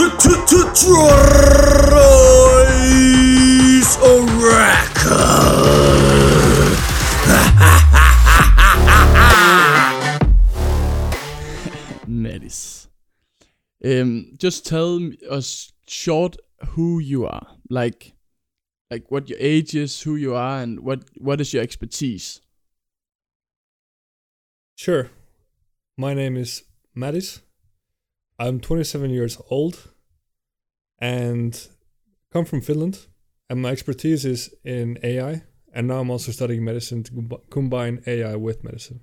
Troy's Oracle. Mattis. Just tell us short who you are. Like what your age is, who you are, and what is your expertise. Sure. My name is Mattis. I'm 27 years old and come from Finland. And my expertise is in AI. And now I'm also studying medicine to combine AI with medicine.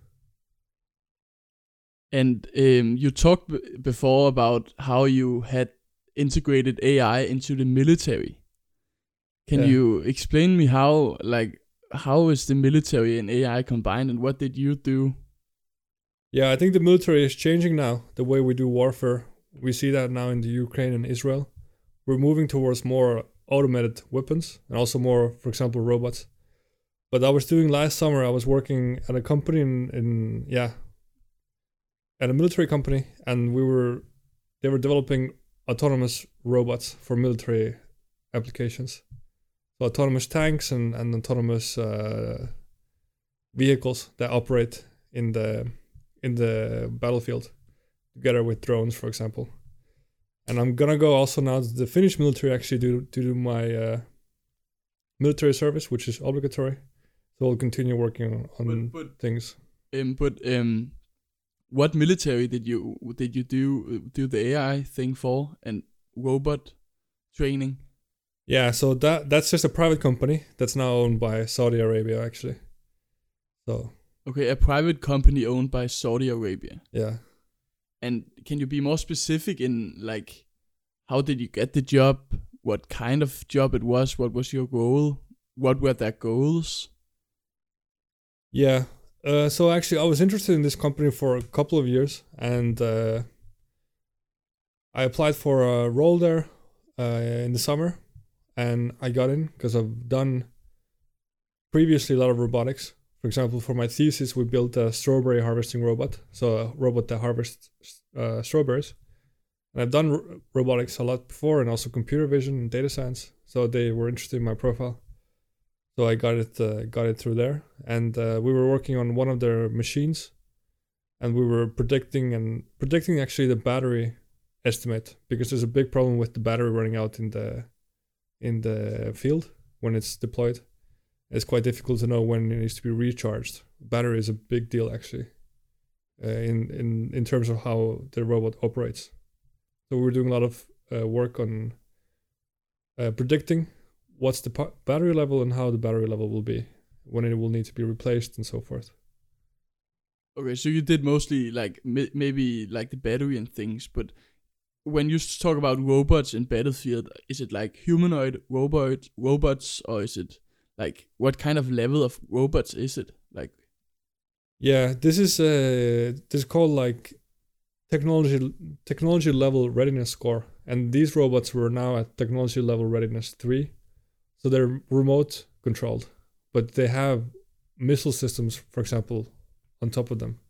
And you talked before about how you had integrated AI into the military. Can you explain me how is the military and AI combined, and what did you do? Yeah, I think the military is changing now, the way we do warfare. We see that now in the Ukraine and Israel. We're moving towards more automated weapons and also more, for example, robots. But I was doing last summer, I was working at a company at a military company, and they were developing autonomous robots for military applications. So autonomous tanks and autonomous vehicles that operate in the battlefield together with drones, for example. And I'm gonna go also now to the Finnish military actually to do my military service, which is obligatory. So I'll continue working on things. What military did you do the AI thing for, and robot training? Yeah, so that's just a private company that's now owned by Saudi Arabia actually. So okay, a private company owned by Saudi Arabia. Yeah. And can you be more specific in like how did you get the job? What kind of job it was? What was your goal? What were their goals? Yeah. So actually, I was interested in this company for a couple of years, and I applied for a role there in the summer, and I got in because I've done previously a lot of robotics. For example, for my thesis, we built a strawberry harvesting robot, so a robot that harvests strawberries. And I've done robotics a lot before, and also computer vision and data science, so they were interested in my profile. So I got it through there, and we were working on one of their machines, and we were predicting actually the battery estimate, because there's a big problem with the battery running out in the field when it's deployed. It's quite difficult to know when it needs to be recharged. Battery is a big deal actually, in terms of how the robot operates. So we were doing a lot of work on predicting what's the battery level and how the battery level will be when it will need to be replaced and so forth. Okay, so you did mostly like maybe like the battery and things, but when you talk about robots in Battlefield, is it like humanoid robots, or is it like what kind of level of robots is it? Like, yeah, this is called like technology level readiness score, and these robots were now at technology level readiness 3. So they're remote controlled, but they have missile systems, for example, on top of them.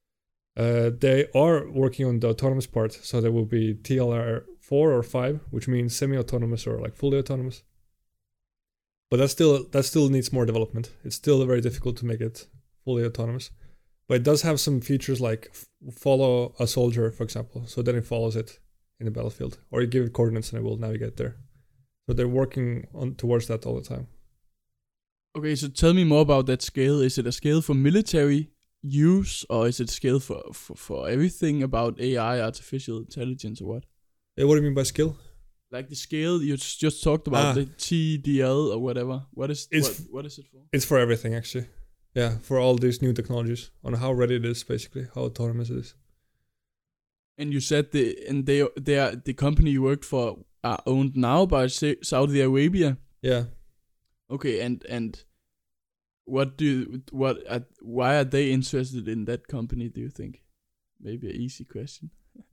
They are working on the autonomous part, so there will be TLR 4 or 5, which means semi-autonomous or like fully autonomous. But that still needs more development. It's still very difficult to make it fully autonomous. But it does have some features like follow a soldier, for example. So then it follows it in the battlefield, or you give it coordinates and it will navigate there. So they're working towards that all the time. Okay, so tell me more about that scale. Is it a scale for military use, or is it a scale for everything about AI, artificial intelligence, or what? What do you mean by skill? Like the scale you just talked about, the TDL or whatever. What is it for? It's for everything actually. Yeah, for all these new technologies, on how ready it is, basically, how autonomous it is. And you said the company you worked for are owned now by Saudi Arabia. Yeah. Okay, and why are they interested in that company, do you think? Maybe an easy question.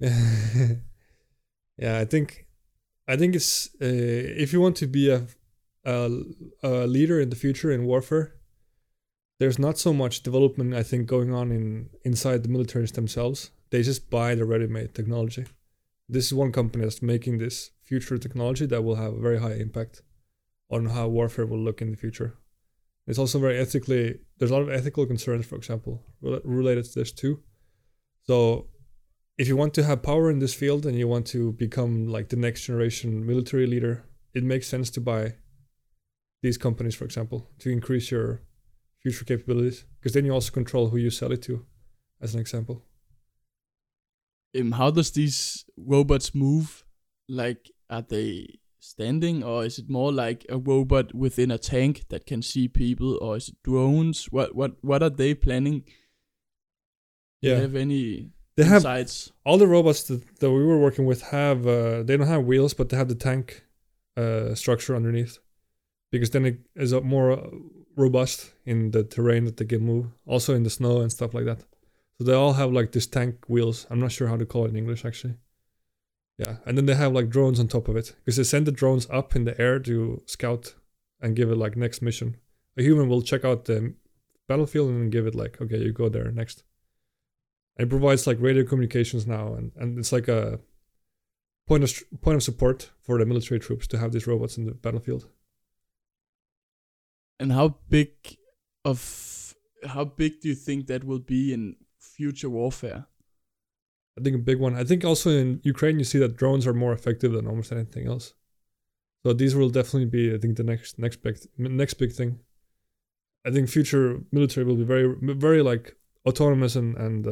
Yeah, I think it's if you want to be a leader in the future in warfare, there's not so much development, I think, going on inside the militaries themselves. They just buy the ready-made technology. This is one company that's making this future technology that will have a very high impact on how warfare will look in the future. It's also there's a lot of ethical concerns, for example, related to this too. So if you want to have power in this field and you want to become like the next generation military leader, it makes sense to buy these companies, for example, to increase your future capabilities, because then you also control who you sell it to, as an example. How does these robots move? Like, are they standing, or is it more like a robot within a tank that can see people, or is it drones? What are they planning? Do you have any insights? All the robots that we were working with have they don't have wheels, but they have the tank structure underneath, because then it is more robust in the terrain that they can move, also in the snow and stuff like that. So they all have like this tank wheels. I'm not sure how to call it in English, actually. Yeah, and then they have like drones on top of it, because they send the drones up in the air to scout and give it like next mission. A human will check out the battlefield and give it like, okay, you go there next. And it provides like radio communications now, and it's like a point of support for the military troops to have these robots in the battlefield. And how big do you think that will be in future warfare? I think a big one. I think also in Ukraine you see that drones are more effective than almost anything else. So these will definitely be, I think, the next big thing. I think future military will be very, very like autonomous and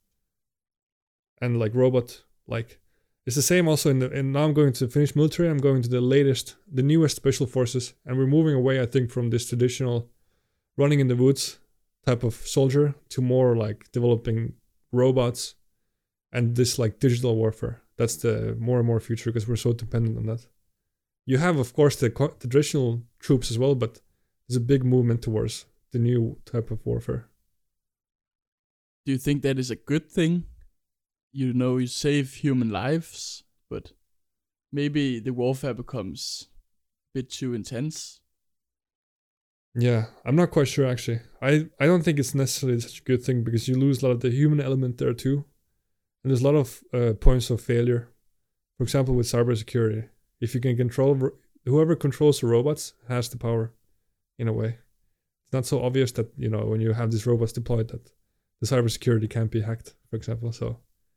like robot like. It's the same also in now I'm going to finish military. I'm going to the newest special forces, and we're moving away, I think, from this traditional running in the woods type of soldier to more like developing robots and this like digital warfare. That's the more and more future, because we're so dependent on that. You have, of course, the traditional troops as well, but there's a big movement towards the new type of warfare. Do you think that is a good thing? You save human lives, but maybe the warfare becomes a bit too intense. Yeah, I'm not quite sure, actually. I don't think it's necessarily such a good thing, because you lose a lot of the human element there too. And there's a lot of points of failure. For example, with cybersecurity. If you can control, whoever controls the robots has the power, in a way. It's not so obvious that, when you have these robots deployed, that the cybersecurity can't be hacked, for example. So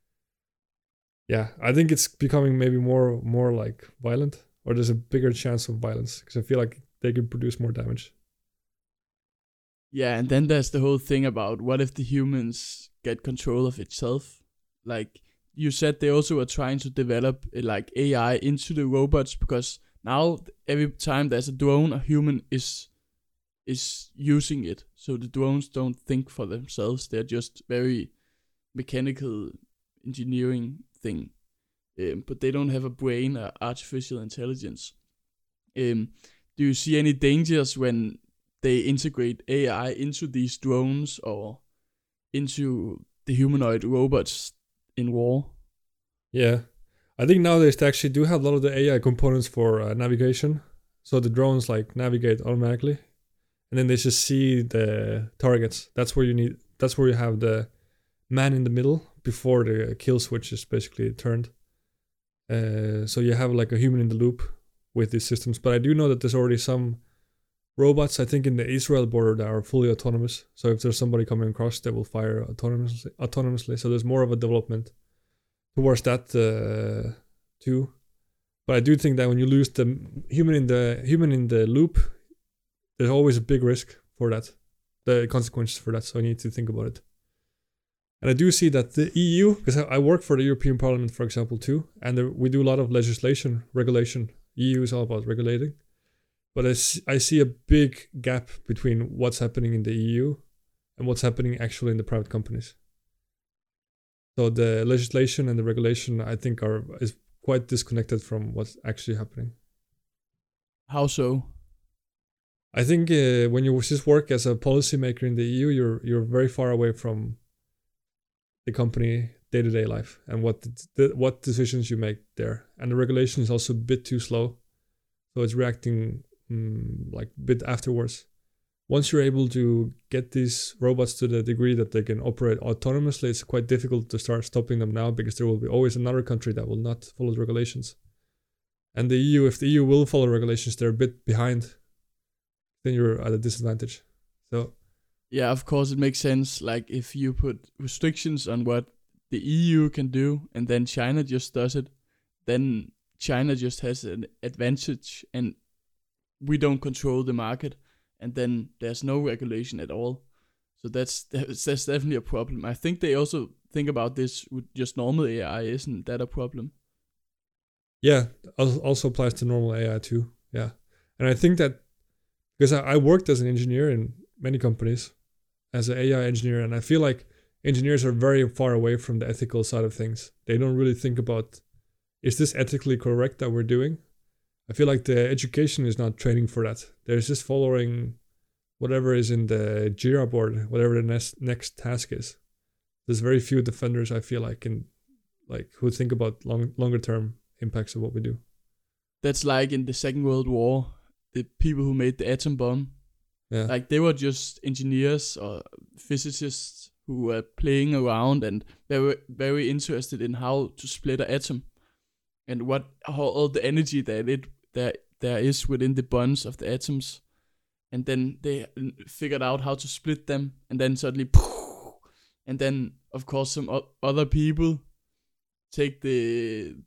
yeah, I think it's becoming maybe more like violent, or there's a bigger chance of violence, because I feel like they could produce more damage. Yeah, and then there's the whole thing about what if the humans get control of itself? Like you said, they also are trying to develop like AI into the robots, because now every time there's a drone, a human is using it. So the drones don't think for themselves. They're just very mechanical engineering thing, but they don't have a brain or artificial intelligence. Do you see any dangers when they integrate AI into these drones or into the humanoid robots in war? Yeah, I think nowadays they actually do have a lot of the AI components for navigation. So the drones like navigate automatically, and then they just see the targets. That's where you have the man in the middle before the kill switch is basically turned. So you have like a human in the loop with these systems. But I do know that there's already some robots, I think, in the Israel border that are fully autonomous. So if there's somebody coming across, they will fire autonomously. So there's more of a development towards that too. But I do think that when you lose the human in the loop, there's always a big risk for that, the consequences for that. So you need to think about it. And I do see that the EU, because I work for the European Parliament, for example, too, and we do a lot of regulation. EU is all about regulating. But I see a big gap between what's happening in the EU and what's happening actually in the private companies. So the legislation and the regulation, I think, is quite disconnected from what's actually happening. How so? I think when you just work as a policymaker in the EU, you're very far away from the company day-to-day life and what decisions you make there. And the regulation is also a bit too slow, so it's reacting like a bit afterwards. once you're able to get these robots to the degree that they can operate autonomously, it's quite difficult to start stopping them now because there will be always another country that will not follow the regulations. And the EU, if the EU will follow regulations, they're a bit behind, then you're at a disadvantage. So yeah, of course it makes sense. Like if you put restrictions on what the EU can do and then China just does it, then China just has an advantage and we don't control the market, and then there's no regulation at all. So that's definitely a problem. I think they also think about this with just normal AI. Isn't that a problem? yeah, also applies to normal AI too. Yeah. And I think that because I worked as an engineer in many companies as an AI engineer, and I feel like engineers are very far away from the ethical side of things. They don't really think about, is this ethically correct that we're doing? I feel like the education is not training for that. They're just following whatever is in the Jira board, whatever the next task is. There's very few defenders, I feel like, who think about longer term impacts of what we do. That's like in the Second World War, the people who made the atom bomb. Yeah. Like they were just engineers or physicists who were playing around, and they were very interested in how to split an atom and how all the energy there is within the bonds of the atoms. And then they figured out how to split them, and then suddenly, and then of course some other people take the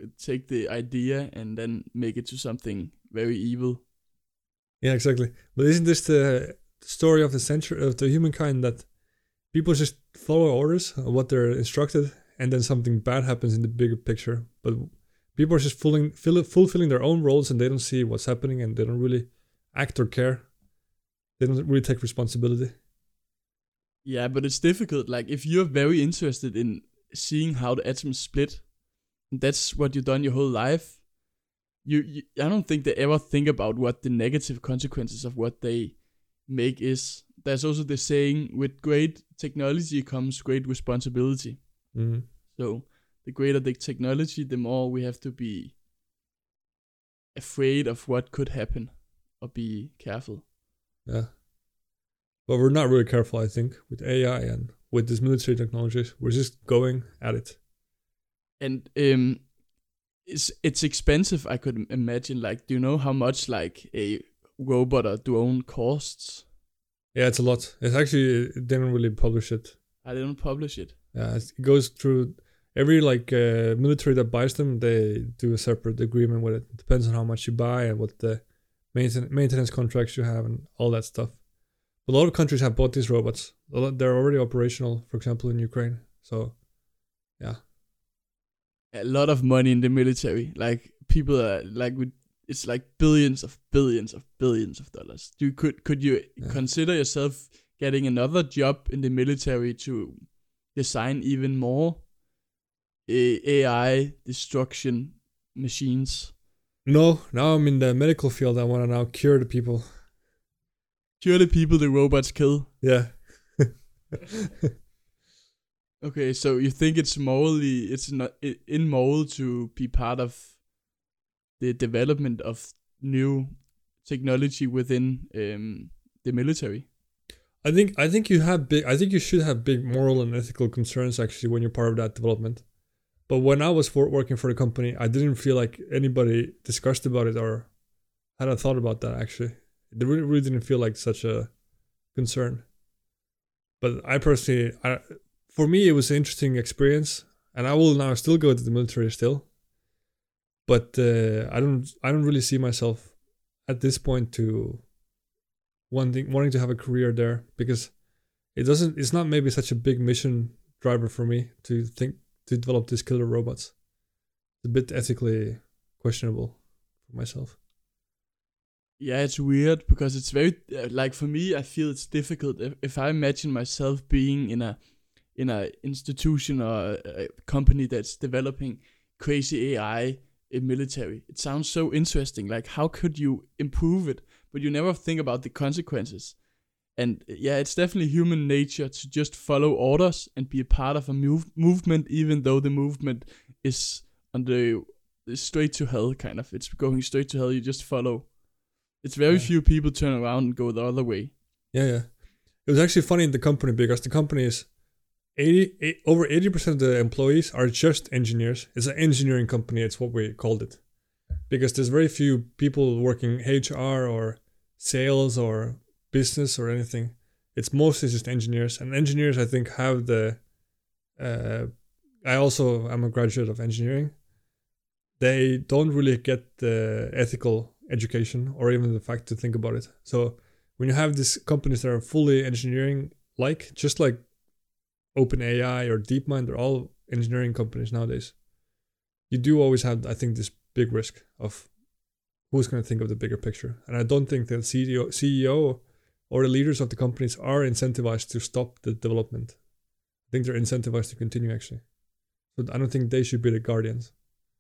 idea and then make it to something very evil. Yeah, exactly. But isn't this the story of the century of the humankind, that people just follow orders of what they're instructed, and then something bad happens in the bigger picture? But people are just fulfilling their own roles, and they don't see what's happening, and they don't really act or care. They don't really take responsibility. Yeah, but it's difficult. Like if you're very interested in seeing how the atoms split, and that's what you've done your whole life, I don't think they ever think about what the negative consequences of what they make is. There's also the saying, with great technology comes great responsibility. Mm-hmm. So the greater the technology, the more we have to be afraid of what could happen or be careful. Yeah. But we're not really careful, I think, with AI and with these military technologies. We're just going at it. And it's expensive, I could imagine. Like, do you know how much like a robot or drone costs? Yeah, it's a lot. It's actually, they don't really publish it. I didn't publish it. Yeah, it goes through every military that buys them. They do a separate agreement with it. It depends on how much you buy and what the maintenance contracts you have and all that stuff. A lot of countries have bought these robots. They're already operational, for example, in Ukraine. So, yeah. A lot of money in the military. Like people are like, it's like billions of dollars. Could you consider yourself getting another job in the military to design even more AI destruction machines? No, now I'm in the medical field. I want to now cure the people. Cure the people the robots kill? Yeah. Okay, so you think it's not immoral to be part of the development of new technology within the military? I think you should have big moral and ethical concerns actually when you're part of that development. But when I was working for the company, I didn't feel like anybody discussed about it or had a thought about that actually. It really didn't feel like such a concern. But I personally, for me, it was an interesting experience, and I will now still go to the military still. But I don't really see myself at this point to wanting to have a career there, because it's not maybe such a big mission driver for me to develop these killer robots. It's a bit ethically questionable for myself. Yeah, it's weird because it's very like for me, I feel it's difficult if I imagine myself being in a institution or a company that's developing crazy AI in military. It sounds so interesting. Like, how could you improve it? But you never think about the consequences. And yeah, it's definitely human nature to just follow orders and be a part of a movement, even though the movement is on the straight to hell kind of. It's going straight to hell. You just follow. It's very few people turn around and go the other way. Yeah. It was actually funny in the company because the company is over 80% of the employees are just engineers. It's an engineering company. It's what we called it because there's very few people working HR or sales or business or anything. It's mostly just engineers, and engineers I think have the. I also am a graduate of engineering. They don't really get the ethical education or even the fact to think about it. So when you have these companies that are fully engineering, like just like OpenAI or DeepMind, they're all engineering companies nowadays. You do always have, I think, this big risk of who's going to think of the bigger picture. And I don't think the CEO or the leaders of the companies are incentivized to stop the development. I think they're incentivized to continue, actually. So I don't think they should be the guardians.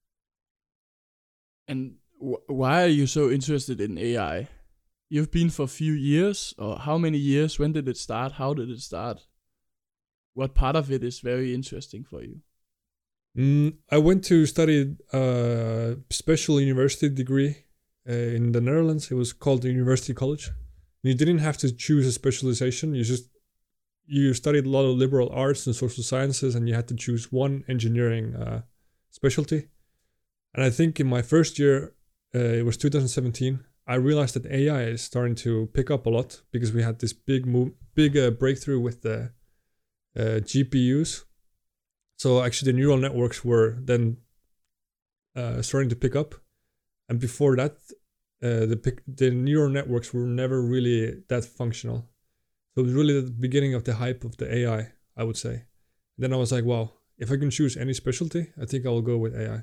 And why are you so interested in AI? You've been for a few years, or how many years? When did it start? How did it start? What part of it is very interesting for you? I went to study a special university degree in the Netherlands. It was called the University College. You didn't have to choose a specialization. You studied a lot of liberal arts and social sciences, and you had to choose one engineering specialty. And I think in my first year, it was 2017, I realized that AI is starting to pick up a lot because we had this big breakthrough with the GPUs. So actually the neural networks were then starting to pick up. And before that, the neural networks were never really that functional. So it was really the beginning of the hype of the AI, I would say. Then I was like, wow, if I can choose any specialty, I think I will go with AI.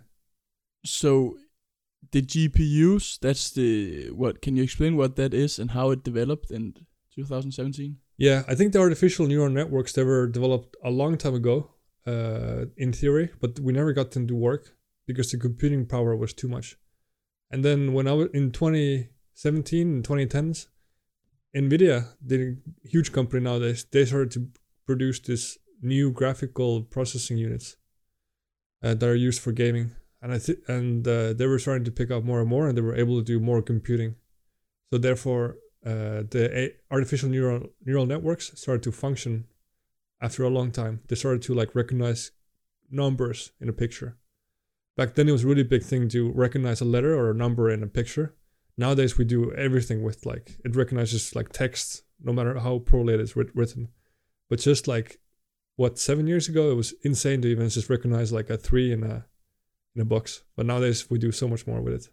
So the GPUs, can you explain what that is and how it developed in 2017? Yeah, I think the artificial neural networks, they were developed a long time ago, in theory, but we never got them to work because the computing power was too much. And then when I was in 2017 and 2010s, NVIDIA, the huge company nowadays, they started to produce this new graphical processing units that are used for gaming. And they were starting to pick up more and more, and they were able to do more computing. So therefore, the artificial neural networks started to function after a long time. They started to like recognize numbers in a picture. Back then, it was a really big thing to recognize a letter or a number in a picture. Nowadays, we do everything with like, it recognizes like text, no matter how poorly it is written. But just like, 7 years ago, it was insane to even just recognize like a 3 in a box. But nowadays, we do so much more with it.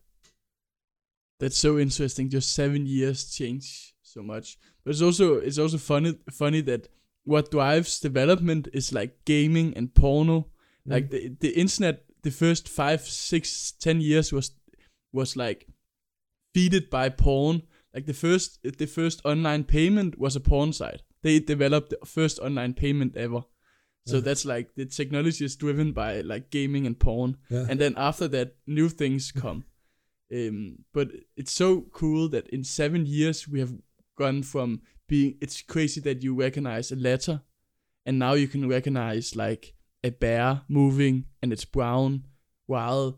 That's so interesting. Just 7 years change so much. But it's also funny that what drives development is like gaming and porno. Like the internet, the first 5, 6, 10 years was like feeded by porn. Like the first online payment was a porn site. They developed the first online payment ever. So that's like the technology is driven by like gaming and porn. Yeah. And then after that, new things come. But it's so cool that in 7 years we have gone from it's crazy that you recognize a letter, and now you can recognize like a bear moving and it's brown, while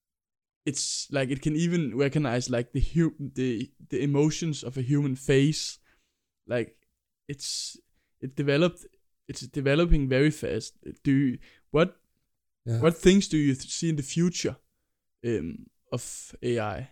it's like it can even recognize like the emotions of a human face. Like it's developing very fast. What things do you see in the future of AI?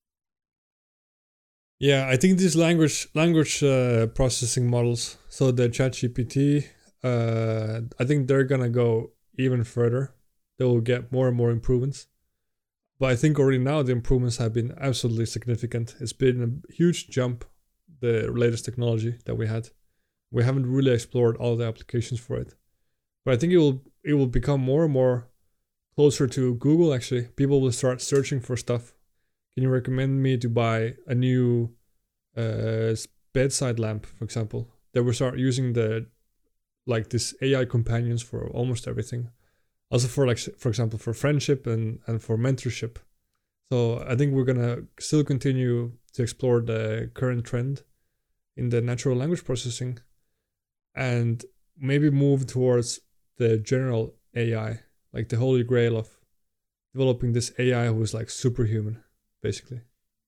Yeah, I think these language processing models, so the ChatGPT, I think they're gonna go even further. They will get more and more improvements. But I think already now the improvements have been absolutely significant. It's been a huge jump, the latest technology that we had. We haven't really explored all the applications for it. But I think it will become more and more closer to Google, actually. People will start searching for stuff. Can you recommend me to buy a new bedside lamp, for example? They will start using this AI companions for almost everything. Also for example, for friendship and for mentorship. So I think we're gonna still continue to explore the current trend in the natural language processing and maybe move towards the general AI, like the holy grail of developing this AI who is like superhuman, basically.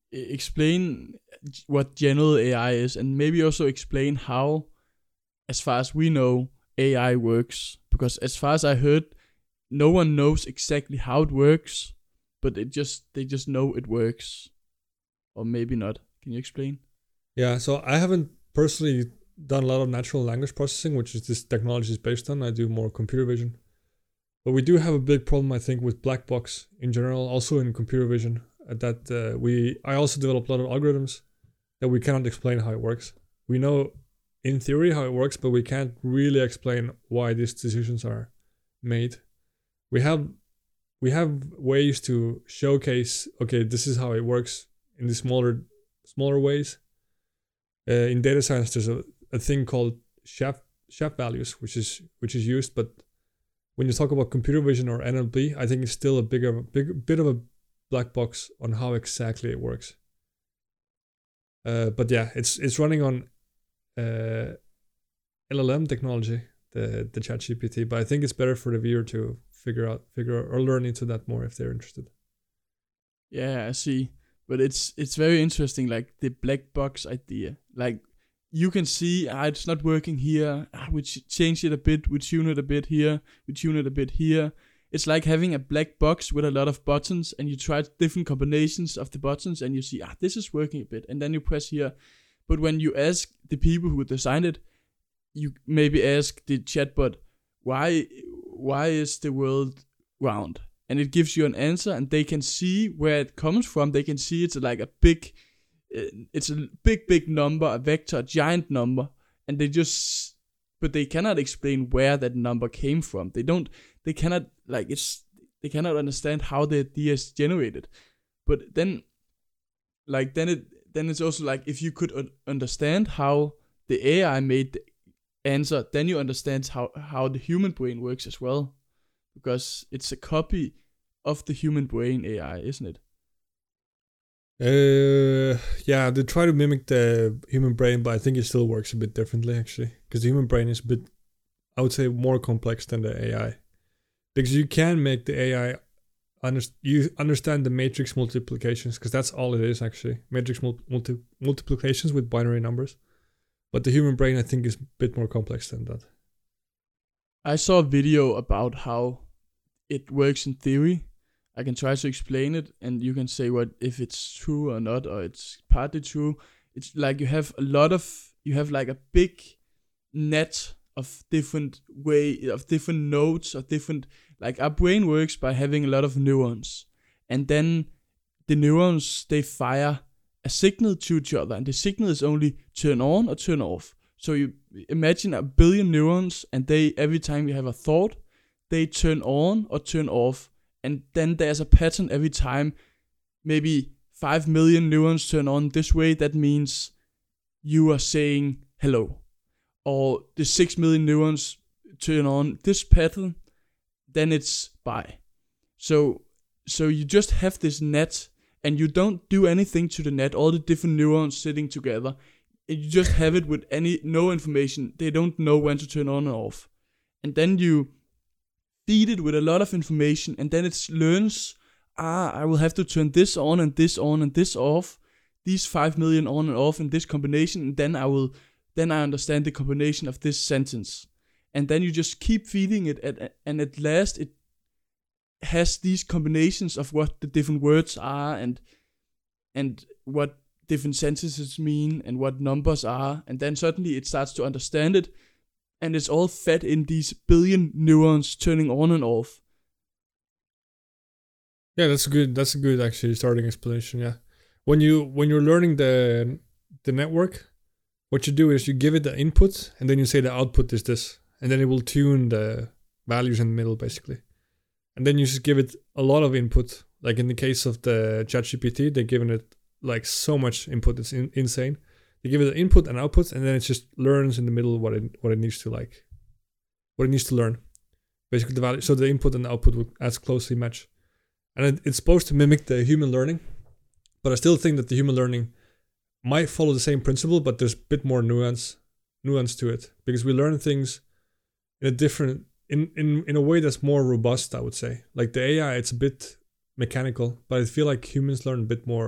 explain what general AI is, and maybe also explain how, as far as we know, AI works. Because as far as I heard, no one knows exactly how it works, but they just know it works, or maybe not. Can you explain? Yeah, so I haven't personally done a lot of natural language processing, which is this technology is based on. I do more computer vision. But we do have a big problem, I think, with black box in general, also in computer vision. I also develop a lot of algorithms that we cannot explain how it works. We know in theory how it works, but we can't really explain why these decisions are made. We have ways to showcase, okay, this is how it works in the smaller ways. In data science, there's a thing called Shape values, which is used, but when you talk about computer vision or NLP, I think it's still a bit of a black box on how exactly it works. But yeah, it's running on LLM technology, the ChatGPT. But I think it's better for the viewer to figure out or learn into that more if they're interested. Yeah, I see. But it's very interesting, like the black box idea. Like you can see, it's not working here. We change it a bit. We tune it a bit here. We tune it a bit here. It's like having a black box with a lot of buttons, and you try different combinations of the buttons, and you see, this is working a bit, and then you press here. But when you ask the people who designed it, you maybe ask the chatbot, why is the world round? And it gives you an answer, and they can see where it comes from. They can see it's like a big number, a vector, a giant number, and but they cannot explain where that number came from. They cannot understand how the idea is generated. But then it's also like, if you could understand how the AI made the answer, then you understand how the human brain works as well, because it's a copy of the human brain AI, isn't it? Yeah, they try to mimic the human brain, but I think it still works a bit differently, actually, because the human brain is a bit, I would say, more complex than the AI, because you can make the AI understand the matrix multiplications, because that's all it is, actually, matrix multiplications with binary numbers. But the human brain, I think, is a bit more complex than that. I saw a video about how it works in theory. I can try to explain it, and you can say if it's true or not, or it's partly true. It's like you have like a big net of different nodes, or different, like our brain works by having a lot of neurons, and then the neurons, they fire a signal to each other, and the signal is only turn on or turn off. So you imagine 1 billion neurons, and every time you have a thought, they turn on or turn off. And then there's a pattern every time. Maybe 5 million neurons turn on this way. That means you are saying hello. Or the 6 million neurons turn on this pattern. Then it's bye. So you just have this net, and you don't do anything to the net. All the different neurons sitting together. And you just have it with no information. They don't know when to turn on and off. And then you feed it with a lot of information, and then it learns, I will have to turn this on and this off, these 5 million on and off in this combination, and then I understand the combination of this sentence. And then you just keep feeding it, and at last it has these combinations of what the different words are, and what different sentences mean, and what numbers are, and then suddenly it starts to understand it. And it's all fed in these billion neurons turning on and off. Yeah, that's a good actually starting explanation. Yeah, when you're learning the network, what you do is you give it the input, and then you say the output is this, and then it will tune the values in the middle, basically. And then you just give it a lot of input. Like in the case of the ChatGPT, they're giving it like so much input, it's insane. They give it an input and output, and then it just learns in the middle what it needs to learn. Basically, the value. So the input and the output will as closely match, and it's supposed to mimic the human learning. But I still think that the human learning might follow the same principle, but there's a bit more nuance to it, because we learn things in a different in a way that's more robust, I would say. Like the AI, it's a bit mechanical, but I feel like humans learn a bit more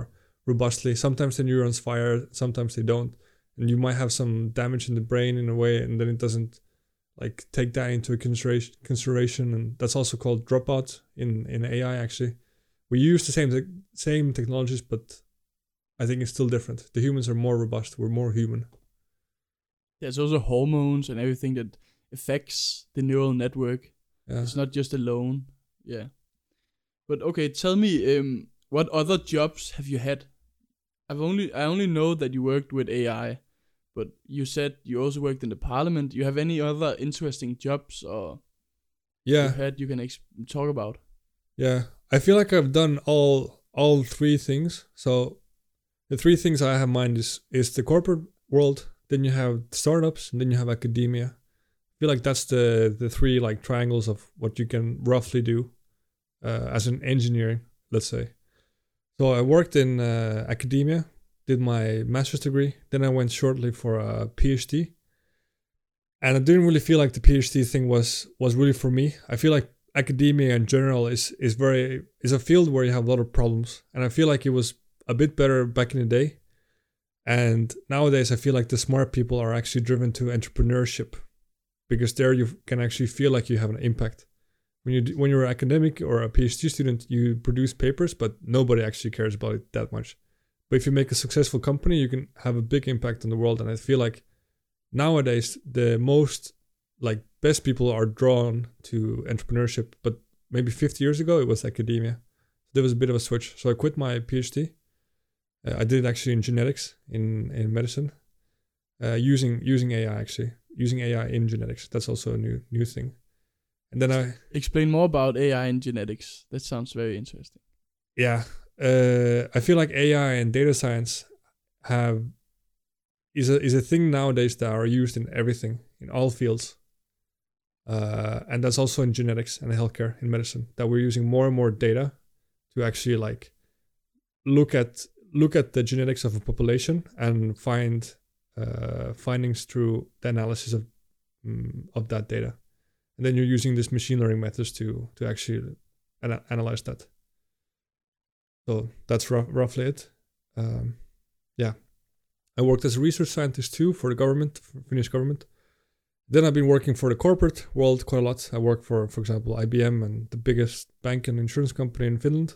robustly. Sometimes the neurons fire, sometimes they don't, and you might have some damage in the brain in a way, and then it doesn't like take that into consideration, and that's also called dropout in AI. Actually, we use the same technologies, but I think it's still different. The humans are more robust. We're more human. There's also hormones and everything that affects the neural network. Yeah. It's not just alone. Yeah. But okay, tell me, what other jobs have you had? I only know that you worked with AI, but you said you also worked in the parliament. You have any other interesting jobs or you can talk about? Yeah, I feel like I've done all three things. So the three things I have in mind is the corporate world, then you have startups, and then you have academia. I feel like that's the three like triangles of what you can roughly do as an engineer, let's say. So I worked in academia, did my master's degree, then I went shortly for a PhD. And I didn't really feel like the PhD thing was really for me. I feel like academia in general is a field where you have a lot of problems, and I feel like it was a bit better back in the day. And nowadays I feel like the smart people are actually driven to entrepreneurship, because there you can actually feel like you have an impact. When you're an academic or a PhD student, you produce papers, but nobody actually cares about it that much. But if you make a successful company, you can have a big impact on the world. And I feel like nowadays the most like best people are drawn to entrepreneurship, but maybe 50 years ago it was academia. There was a bit of a switch. So I quit my PhD. I did it actually in genetics in medicine, using AI actually, using AI in genetics. That's also a new thing. And then I explain more about AI in genetics. That sounds very interesting. Yeah, I feel like AI and data science is a thing nowadays that are used in everything, in all fields. And that's also in genetics and healthcare, in medicine, that we're using more and more data to actually like look at the genetics of a population and find findings through the analysis of that data. And then you're using this machine learning methods to actually analyze that. So that's roughly it. Yeah. I worked as a research scientist too for the government, for Finnish government. Then I've been working for the corporate world quite a lot. I work for example, IBM and the biggest bank and insurance company in Finland.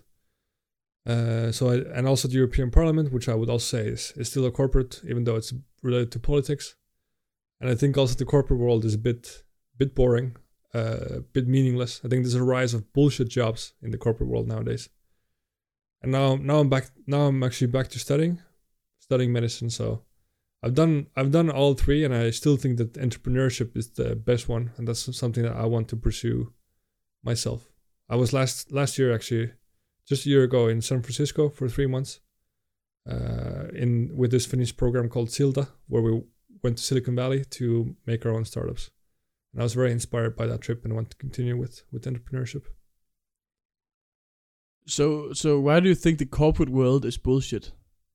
And also the European Parliament, which I would also say is still a corporate, even though it's related to politics. And I think also the corporate world is a bit boring, a bit meaningless. I think there's a rise of bullshit jobs in the corporate world nowadays. And now I'm back. Now I'm actually back to studying medicine. So I've done all three, and I still think that entrepreneurship is the best one, and that's something that I want to pursue myself. I was last year actually, just a year ago, in San Francisco for 3 months, with this Finnish program called Silta, where we went to Silicon Valley to make our own startups. And I was very inspired by that trip and want to continue with entrepreneurship. So why do you think the corporate world is bullshit?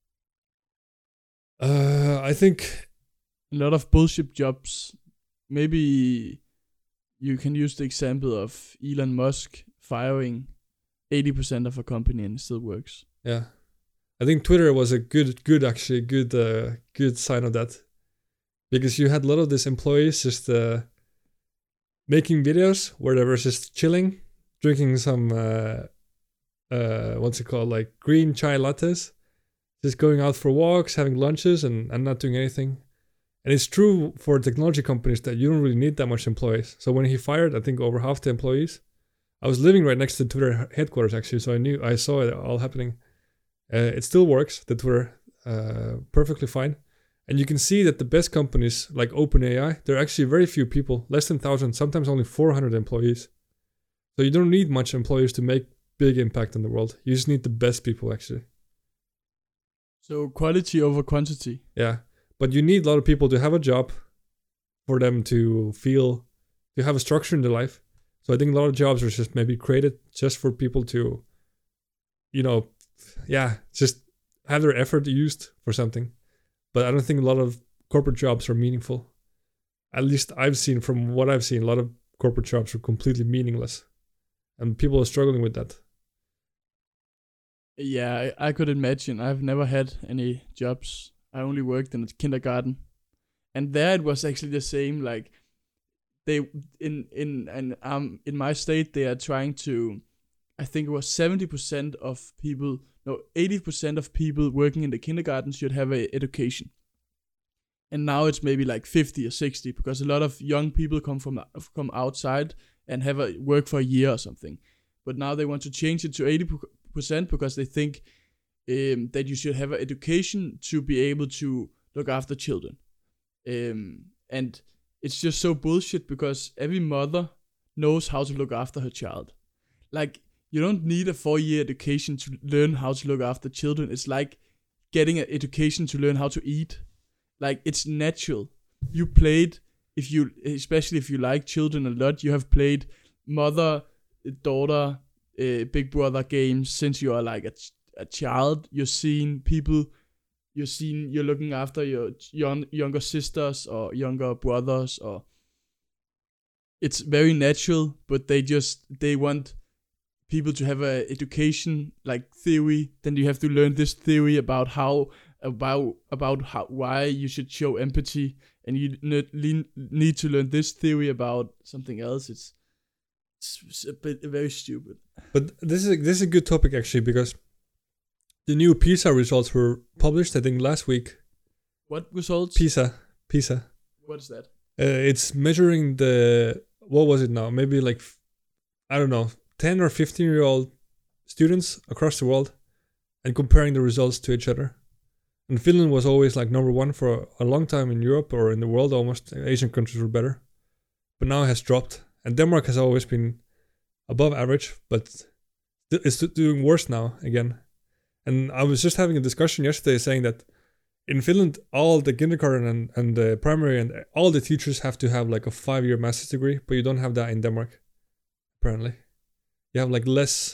I think a lot of bullshit jobs. Maybe you can use the example of Elon Musk firing 80% of a company and it still works. Yeah, I think Twitter was a good sign of that, because you had a lot of these employees just making videos where they were just chilling, drinking some what's it called, like green chai lattes, just going out for walks, having lunches, and not doing anything. And it's true for technology companies that you don't really need that much employees. So when he fired, I think, over half the employees, I was living right next to Twitter headquarters actually, so I saw it all happening. It still works, the Twitter, perfectly fine. And you can see that the best companies like OpenAI, they're actually very few people, less than 1,000, sometimes only 400 employees. So you don't need much employees to make big impact on the world. You just need the best people actually. So quality over quantity. Yeah, but you need a lot of people to have a job, for them to feel, to have a structure in their life. So I think a lot of jobs are just maybe created just for people to, just have their effort used for something. But I don't think a lot of corporate jobs are meaningful. At least from what I've seen, a lot of corporate jobs are completely meaningless. And people are struggling with that. Yeah, I could imagine. I've never had any jobs. I only worked in a kindergarten, and there it was actually the same. Like they in my state they are trying to. I think it was 70% of people, no, 80% of people working in the kindergarten should have a education. And now it's maybe like 50 or 60 because a lot of young people come outside and have a work for a year or something. But now they want to change it to 80% because they think that you should have an education to be able to look after children. And it's just so bullshit because every mother knows how to look after her child. Like, you don't need a 4-year education to learn how to look after children. It's like getting an education to learn how to eat. Like, it's natural. You played, especially if you like children a lot, you have played mother, daughter, big brother games since you are like a child. You're looking after your younger sisters or younger brothers, or it's very natural, but they want people to have a education like theory. Then you have to learn this theory about why you should show empathy, and you need to learn this theory about something else. It's very stupid. But this is a good topic actually, because the new PISA results were published, I think, last week. What results? PISA. What is that? It's measuring what was it now? Maybe like, I don't know, 10 or 15-year-old students across the world and comparing the results to each other. And Finland was always like number one for a long time in Europe or in the world almost. Asian countries were better. But now it has dropped. And Denmark has always been above average, but it's doing worse now again. And I was just having a discussion yesterday saying that in Finland, all the kindergarten and the primary and all the teachers have to have like a 5-year master's degree, but you don't have that in Denmark, apparently. You have like less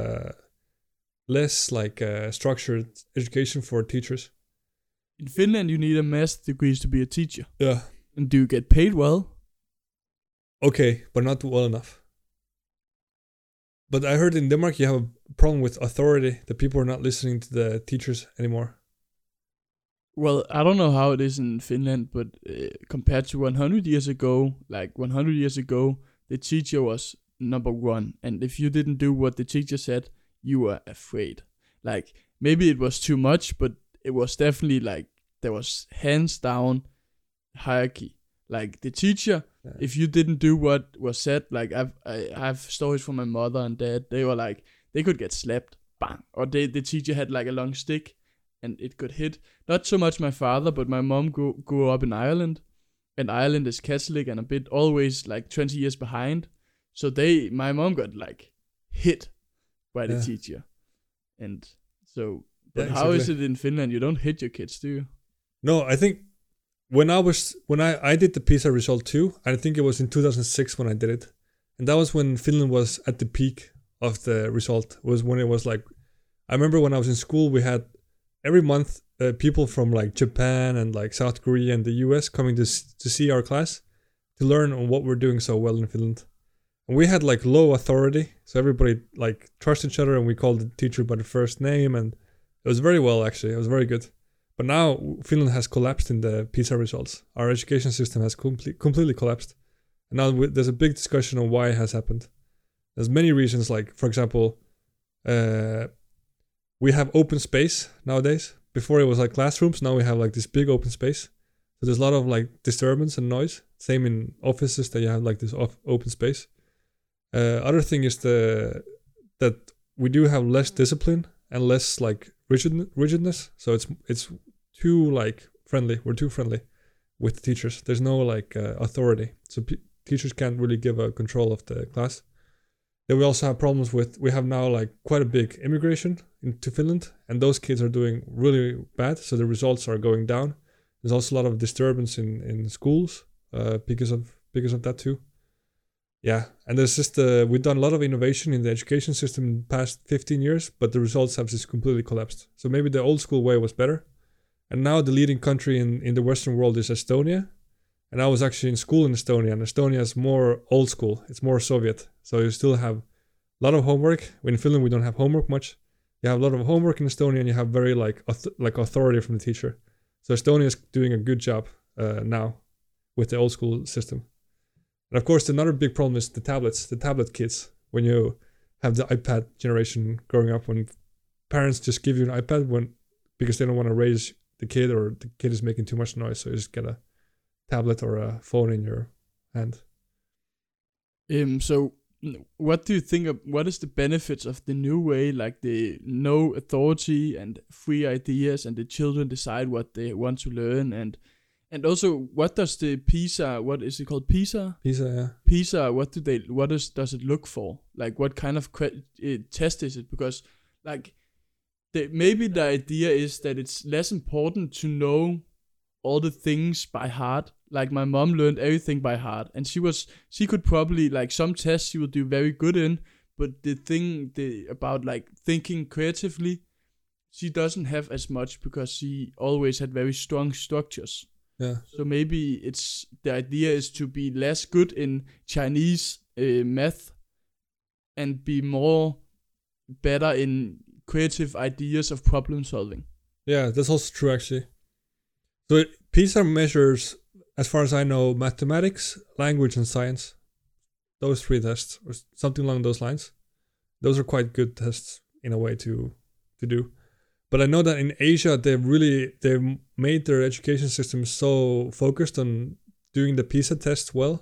structured education for teachers. In Finland, you need a master's degree to be a teacher. Yeah. And do you get paid well? Okay, but not well enough. But I heard in Denmark you have a problem with authority, that people are not listening to the teachers anymore. Well, I don't know how it is in Finland, but compared to 100 years ago, the teacher was number one. And if you didn't do what the teacher said, you were afraid. Like, maybe it was too much, but it was definitely like, there was hands down hierarchy. Like, the teacher, if you didn't do what was said, like, I have stories from my mother and dad, they were like, they could get slapped, bang. Or the teacher had like a long stick, and it could hit. Not so much my father, but my mom grew up in Ireland, and Ireland is Catholic and a bit always like 20 years behind. So my mom got like hit by the teacher. And so, but how is it in Finland? You don't hit your kids, do you? No, I think when I did the PISA result too, I think it was in 2006 when I did it. And that was when Finland was at the peak of the result. Was when it was like, I remember when I was in school, we had every month people from like Japan and like South Korea and the US coming to see our class to learn on what we're doing so well in Finland. And we had like low authority, so everybody like trusted each other, and we called the teacher by the first name, and it was very well actually. It was very good. But now Finland has collapsed in the PISA results. Our education system has completely collapsed. And now there's a big discussion on why it has happened. There's many reasons, like, for example, we have open space nowadays. Before it was like classrooms, now we have like this big open space. So there's a lot of like disturbance and noise. Same in offices, that you have like this open space. Other thing is that we do have less discipline and less like rigidness. So it's too like friendly. We're too friendly with the teachers. There's no like authority. So teachers can't really give a control of the class. Then we also have problems we have now like quite a big immigration into Finland, and those kids are doing really bad. So the results are going down. There's also a lot of disturbance in schools because of that too. Yeah, and there's just we've done a lot of innovation in the education system in the past 15 years, but the results have just completely collapsed. So maybe the old school way was better. And now the leading country in the Western world is Estonia. And I was actually in school in Estonia, and Estonia is more old school. It's more Soviet. So you still have a lot of homework. In Finland, we don't have homework much. You have a lot of homework in Estonia, and you have very like authority from the teacher. So Estonia is doing a good job now with the old school system. And of course, another big problem is the tablet kids. When you have the iPad generation growing up, when parents just give you an iPad because they don't want to raise the kid, or the kid is making too much noise, so you just get a tablet or a phone in your hand. So what do you think of, what is the benefits of the new way, like the no authority and free ideas, and the children decide what they want to learn, and also what does the PISA, what is it called, PISA, yeah. PISA, what does it look for, like what kind of test is it? Because like maybe the idea is that it's less important to know all the things by heart. Like my mom learned everything by heart, and she could probably, like, some tests she would do very good in, but the thing about like thinking creatively, she doesn't have as much because she always had very strong structures. Yeah. So maybe the idea is to be less good in Chinese math and be better in creative ideas of problem solving. Yeah, that's also true actually. So PISA measures, as far as I know, mathematics, language, and science. Those 3 tests, or something along those lines. Those are quite good tests in a way to do. But I know that in Asia, they've made their education system so focused on doing the PISA test well,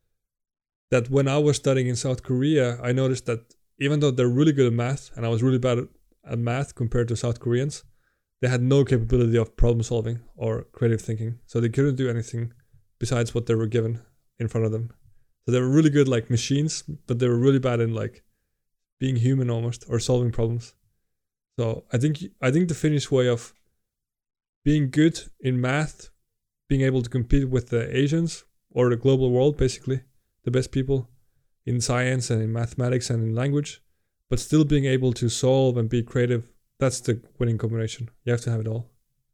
that when I was studying in South Korea, I noticed that even though they're really good at math, and I was really bad at math compared to South Koreans, they had no capability of problem solving or creative thinking. So they couldn't do anything besides what they were given in front of them. So they were really good like machines, but they were really bad in like being human almost, or solving problems. So I think the Finnish way of being good in math, being able to compete with the Asians or the global world, basically the best people in science and in mathematics and in language, but still being able to solve and be creative, that's the winning combination. You have to have it all.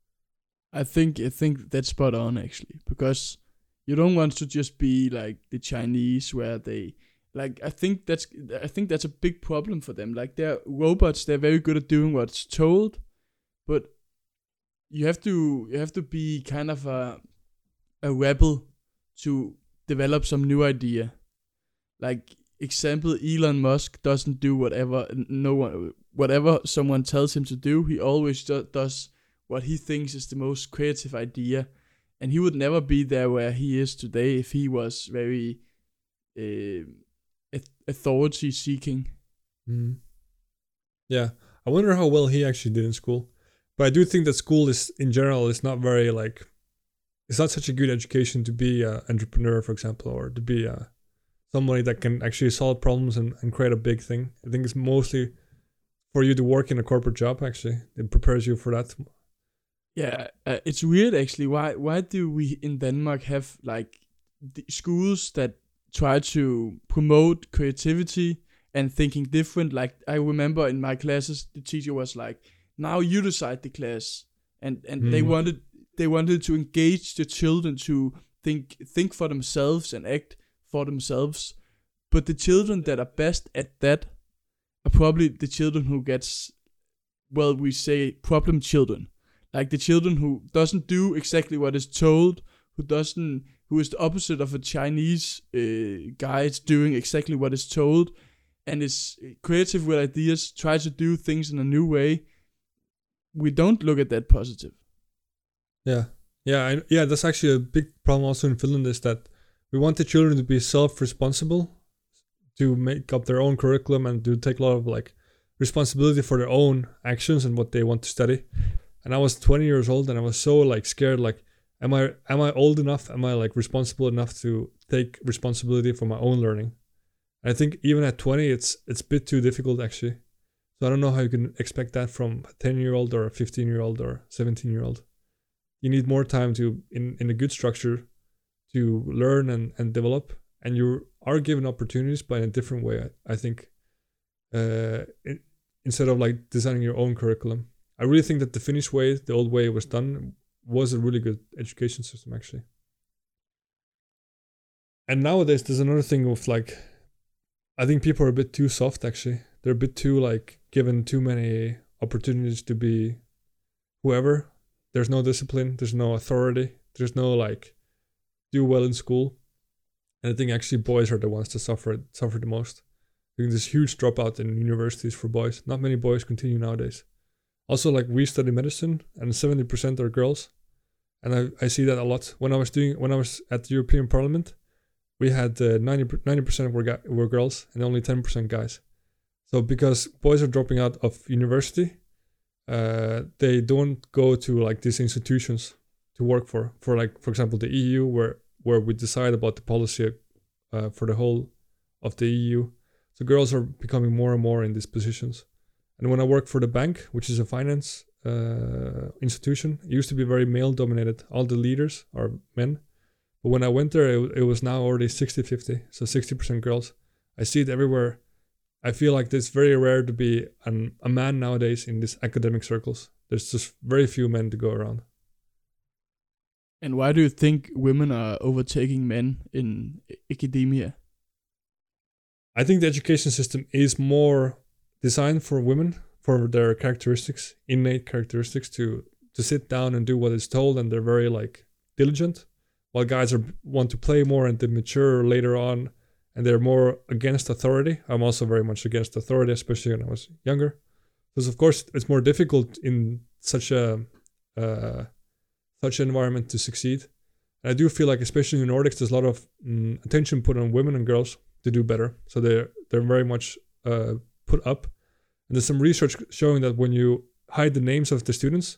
I think that's spot on actually, because you don't want to just be like the Chinese where they, like, I think that's a big problem for them. Like, they're robots, they're very good at doing what's told, but you have to be kind of a rebel to develop some new idea. Like, example, Elon Musk doesn't do whatever someone tells him to do. He always does what he thinks is the most creative idea, and he would never be there where he is today if he was very authority seeking. Mm. Yeah, I wonder how well he actually did in school. But I do think that school in general is not very like, it's not such a good education to be an entrepreneur, for example, or to be somebody that can actually solve problems and create a big thing. I think it's mostly for you to work in a corporate job. Actually, it prepares you for that. Yeah, it's weird actually. Why do we in Denmark have like schools that try to promote creativity and thinking different? Like, I remember in my classes, the teacher was like, "Now you decide the class," and they wanted to engage the children to think for themselves and act for themselves. But the children that are best at that are probably the children who gets, well, we say problem children. Like the children who doesn't do exactly what is told, who is the opposite of a Chinese guy. It's doing exactly what is told, and is creative with ideas, try to do things in a new way. We don't look at that positive. Yeah. That's actually a big problem also in Finland, is that we want the children to be self-responsible, to make up their own curriculum and to take a lot of like responsibility for their own actions and what they want to study. And I was 20 years old and I was so like scared, like, am I old enough? Am I like responsible enough to take responsibility for my own learning? And I think even at 20, it's a bit too difficult actually. So I don't know how you can expect that from a 10-year-old or a 15-year-old or 17-year-old. You need more time to, in a good structure, to learn and develop. And you are given opportunities, but in a different way, I think, instead of like designing your own curriculum. I really think that the Finnish way, the old way it was done, was a really good education system actually. And nowadays there's another thing with like, I think people are a bit too soft actually. They're a bit too like given too many opportunities to be whoever. There's no discipline. There's no authority. There's no like do well in school. And I think actually boys are the ones that suffer the most. I think there's huge dropout in universities for boys. Not many boys continue nowadays. Also, like we study medicine, and 70% are girls, and I see that a lot. When I was at the European Parliament, we had 90% were girls and only 10% guys. So because boys are dropping out of university, they don't go to like these institutions to work for like, for example, the EU, where we decide about the policy for the whole of the EU. So girls are becoming more and more in these positions. And when I worked for the bank, which is a finance institution, it used to be very male dominated. All the leaders are men. But when I went there, it was now already 60-50, so 60% girls. I see it everywhere. I feel like it's very rare to be a man nowadays in these academic circles. There's just very few men to go around. And why do you think women are overtaking men in academia? I think the education system is more designed for women, for their characteristics, innate characteristics, to sit down and do what is told, and they're very like diligent, while guys want to play more and they mature later on, and they're more against authority. I'm also very much against authority, especially when I was younger, because of course it's more difficult in such an environment to succeed. And I do feel like, especially in the Nordics, there's a lot of attention put on women and girls to do better, so they're very much put up. And there's some research showing that when you hide the names of the students,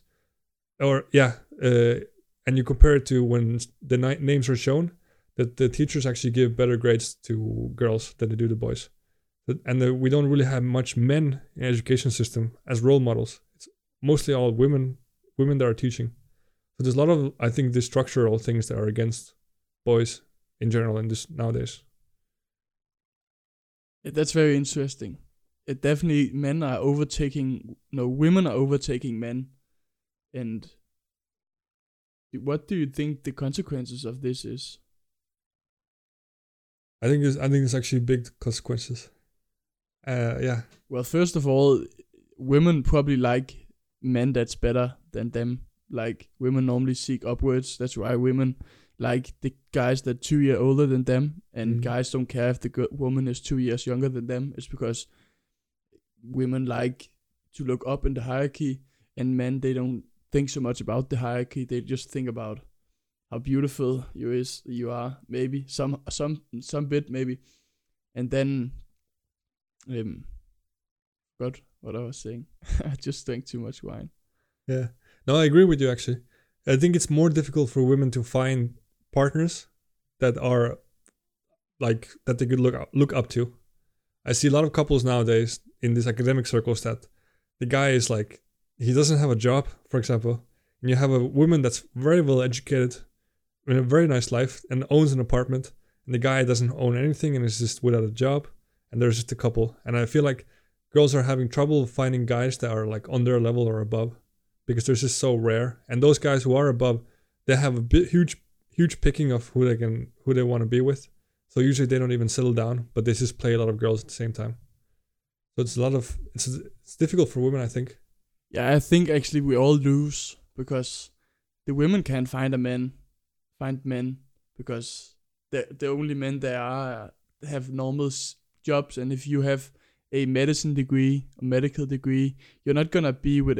and you compare it to when the names are shown, that the teachers actually give better grades to girls than they do to boys. And we don't really have much men in the education system as role models. It's mostly all women that are teaching. So there's a lot of, I think, the structural things that are against boys in general in this nowadays. That's very interesting. It definitely, women are overtaking men. And what do you think the consequences of this is? I think there's actually big consequences. Yeah. Well, first of all, women probably like men that's better than them. Like, women normally seek upwards. That's why women like the guys that 2 years older than them, and guys don't care if the woman is 2 years younger than them. It's because women like to look up in the hierarchy, and men, they don't think so much about the hierarchy. They just think about how beautiful you are, maybe some bit maybe, and then God, what I was saying. I just drank too much wine. Yeah, no, I agree with you actually. I think it's more difficult for women to find partners that are like that they could look up to. I see a lot of couples nowadays in these academic circles that the guy is like, he doesn't have a job, for example, and you have a woman that's very well educated, in a very nice life, and owns an apartment, and the guy doesn't own anything and is just without a job, and there's just a couple. And I feel like girls are having trouble finding guys that are like on their level or above, because they're just so rare. And those guys who are above, they have a huge picking of who they want to be with. So usually they don't even settle down, but they just play a lot of girls at the same time. So it's difficult for women, I think. Yeah, I think actually we all lose, because the women can't find men because the only men there are have normal jobs, and if you have a medicine degree, a medical degree, you're not gonna be with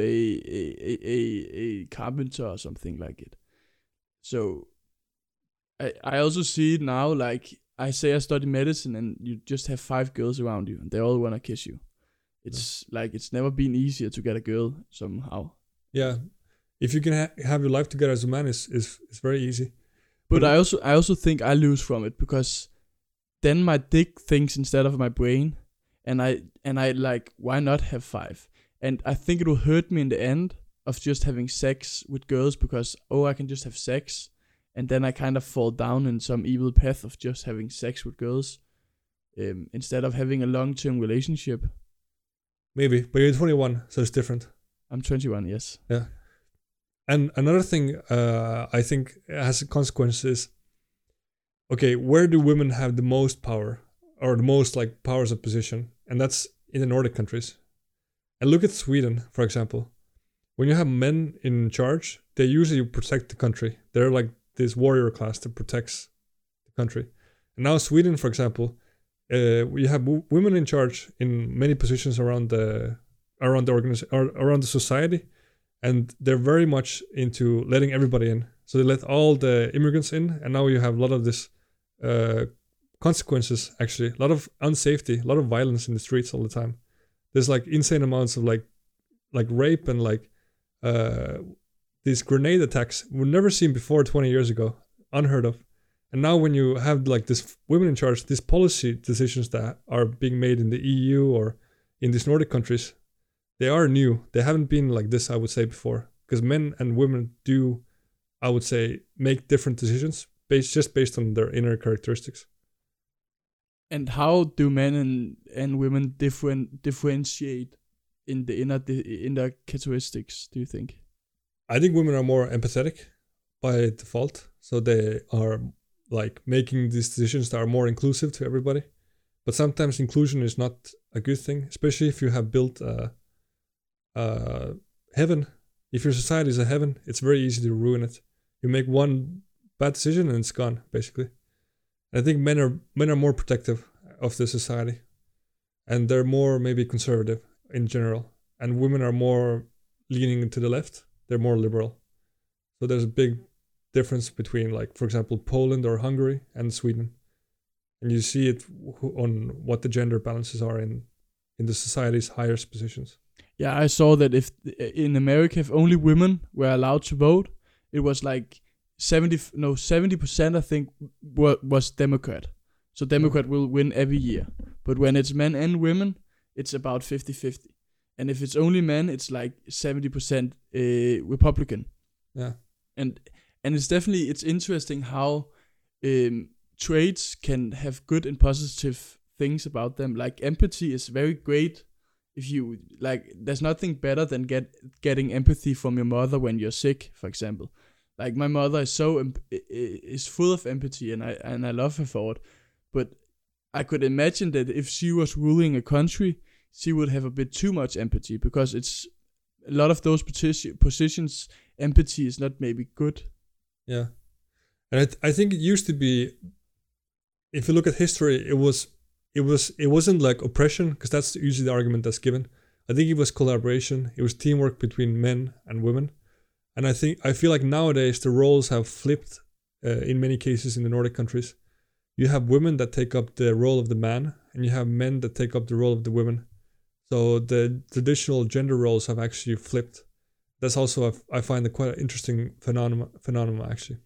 a carpenter or something like it. So I also see it now, like I say I study medicine and you just have 5 girls around you and they all wanna kiss you. It's like it's never been easier to get a girl somehow. Yeah, if you can have your life together as a man, is very easy. But I also think I lose from it, because then my dick thinks instead of my brain, and I like, why not have 5? And I think it will hurt me in the end of just having sex with girls, because I can just have sex, and then I kind of fall down in some evil path of just having sex with girls, instead of having a long-term relationship. Maybe, but you're 21, so it's different. I'm 21, yes. Yeah. And another thing I think has consequences. Okay, where do women have the most power, or the most like powers of position? And that's in the Nordic countries. And look at Sweden, for example. When you have men in charge, they usually protect the country. They're like this warrior class that protects the country. And now Sweden, for example, we have women in charge in many positions around the organization, around the society, and they're very much into letting everybody in. So they let all the immigrants in, and now you have a lot of this consequences. Actually, a lot of unsafety, a lot of violence in the streets all the time. There's like insane amounts of like rape and like these grenade attacks were never seen before 20 years ago, unheard of. And now when you have like this women in charge, these policy decisions that are being made in the EU or in these Nordic countries, they are new. They haven't been like this, I would say, before. Because men and women do, I would say, make different decisions based on their inner characteristics. And how do men and women differentiate in the inner characteristics, do you think? I think women are more empathetic by default. So they are like making these decisions that are more inclusive to everybody. But sometimes inclusion is not a good thing, especially if you have built heaven. If your society is a heaven, it's very easy to ruin it. You make one bad decision and it's gone, basically. And I think men are more protective of the society, and they're more maybe conservative in general. And women are more leaning to the left. They're more liberal. So there's a big difference between, like, for example, Poland or Hungary and Sweden. And you see it on what the gender balances are in the society's highest positions. Yeah, I saw that if in America, if only women were allowed to vote, it was like 70%, I think, was Democrat. So Democrat will win every year. But when it's men and women, it's about 50-50. And if it's only men, it's like 70% Republican. Yeah. And it's interesting how traits can have good and positive things about them. Like empathy is very great. If you like, there's nothing better than getting empathy from your mother when you're sick, for example. Like my mother is full of empathy, and I love her for it. But I could imagine that if she was ruling a country, she would have a bit too much empathy, because it's a lot of those positions. Empathy is not maybe good. Yeah, and I think it used to be. If you look at history, it wasn't like oppression, because that's usually the argument that's given. I think it was collaboration. It was teamwork between men and women. And I feel like nowadays the roles have flipped in many cases in the Nordic countries. You have women that take up the role of the man, and you have men that take up the role of the women. So the traditional gender roles have actually flipped. That's also, I find, quite an interesting phenomenon actually.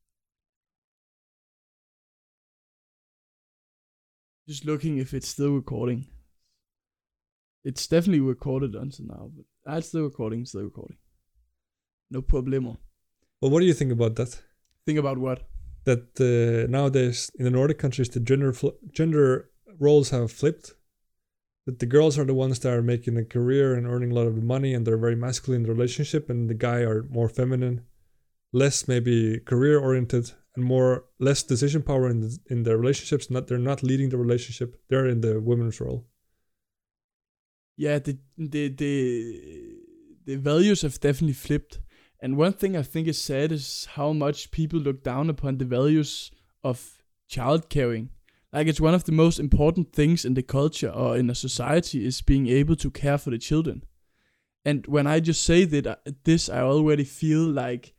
Just looking if it's still recording. It's definitely recorded until now, but it's still recording. No problemo. Well, what do you think about that? Think about what? That nowadays in the Nordic countries, the gender roles have flipped. That the girls are the ones that are making a career and earning a lot of money, and they're very masculine in the relationship, and the guy are more feminine, less maybe career oriented, and less decision power in their relationships. They're not leading the relationship. They're in the women's role. Yeah, the values have definitely flipped. And one thing I think is sad is how much people look down upon the values of child caring. Like, it's one of the most important things in the culture or in a society is being able to care for the children. And when I just say this, I already feel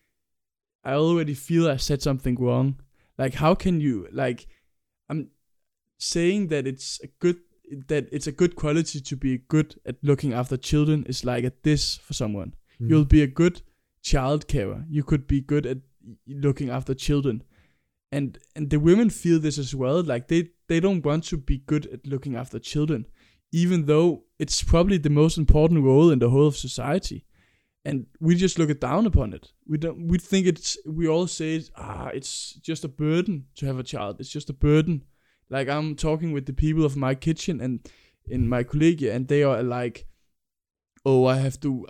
I said something wrong. Like, how can you, like, I'm saying that it's a good quality to be good at looking after children is like a diss for someone. You'll be a good child carer. You could be good at looking after children. And the women feel this as well. Like, they don't want to be good at looking after children, even though it's probably the most important role in the whole of society. And we just look down upon it. We think we all say, it's just a burden to have a child. It's just a burden. Like, I'm talking with the people of my kitchen and in my collegia, and they are like, oh, I have to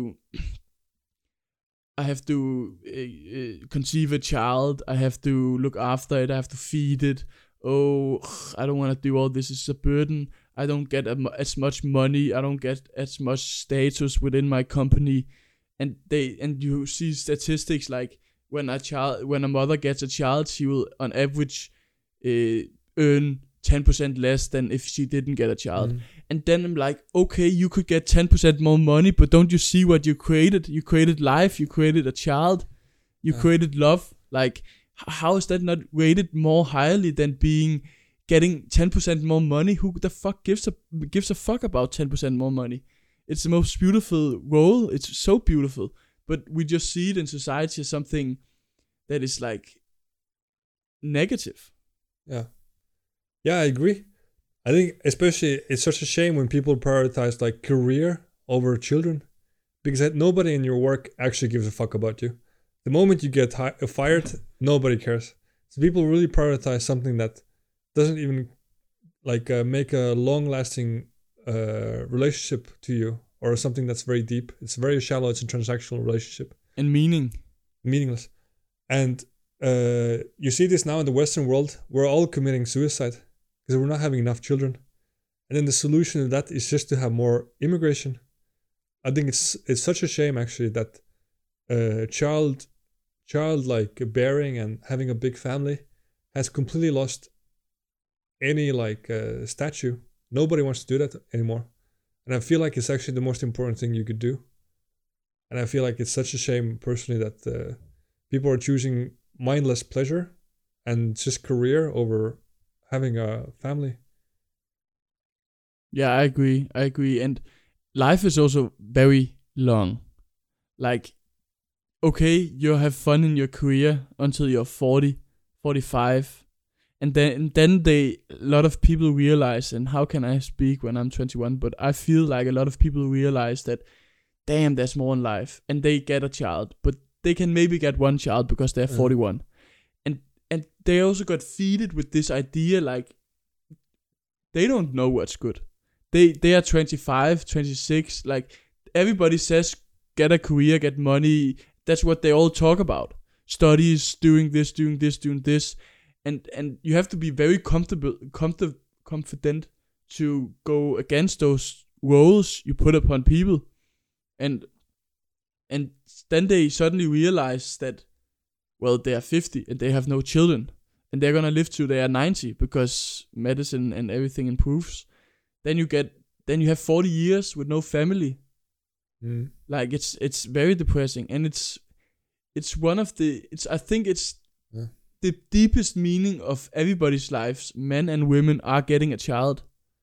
conceive a child. I have to look after it. I have to feed it. Oh, I don't want to do all this. It's a burden. I don't get as much money, I don't get as much status within my company, and you see statistics like when a mother gets a child, she will on average earn 10% less than if she didn't get a child. And then I'm like, okay, you could get 10% more money, but don't you see what you created? You created life, you created a child, you created love. Like, how is that not rated more highly than getting 10% more money? Who the fuck gives a fuck about 10% more money? It's the most beautiful role. It's so beautiful, but we just see it in society as something that is like negative. Yeah, I agree. I think especially it's such a shame when people prioritize like career over children, because nobody in your work actually gives a fuck about you. The moment you get fired, nobody cares. So people really prioritize something that doesn't even like make a long-lasting relationship to you, or something that's very deep. It's very shallow. It's a transactional relationship. And meaningless. And you see this now in the Western world. We're all committing suicide because we're not having enough children. And then the solution to that is just to have more immigration. I think it's such a shame actually that child like bearing and having a big family has completely lost any like statue. Nobody wants to do that anymore. And I feel like it's actually the most important thing you could do. And I feel like it's such a shame personally that people are choosing mindless pleasure and just career over having a family. Yeah, I agree. And life is also very long. Like, okay, you have fun in your career until you're 40, 45. And then a lot of people realize, and how can I speak when I'm 21, but I feel like a lot of people realize that, damn, there's more in life. And they get a child, but they can maybe get one child because they're 41. And they also got feeded with this idea, like, they don't know what's good. They are 25, 26, like, everybody says, get a career, get money. That's what they all talk about. Studies, doing this. And you have to be very confident to go against those roles you put upon people. And then they suddenly realize that, well, they are 50 and they have no children. And they're gonna live till they are 90 because medicine and everything improves. Then you have 40 years with no family. Like, it's very depressing, and it's one of the, I think it's the deepest meaning of everybody's lives. Men and women are getting a child.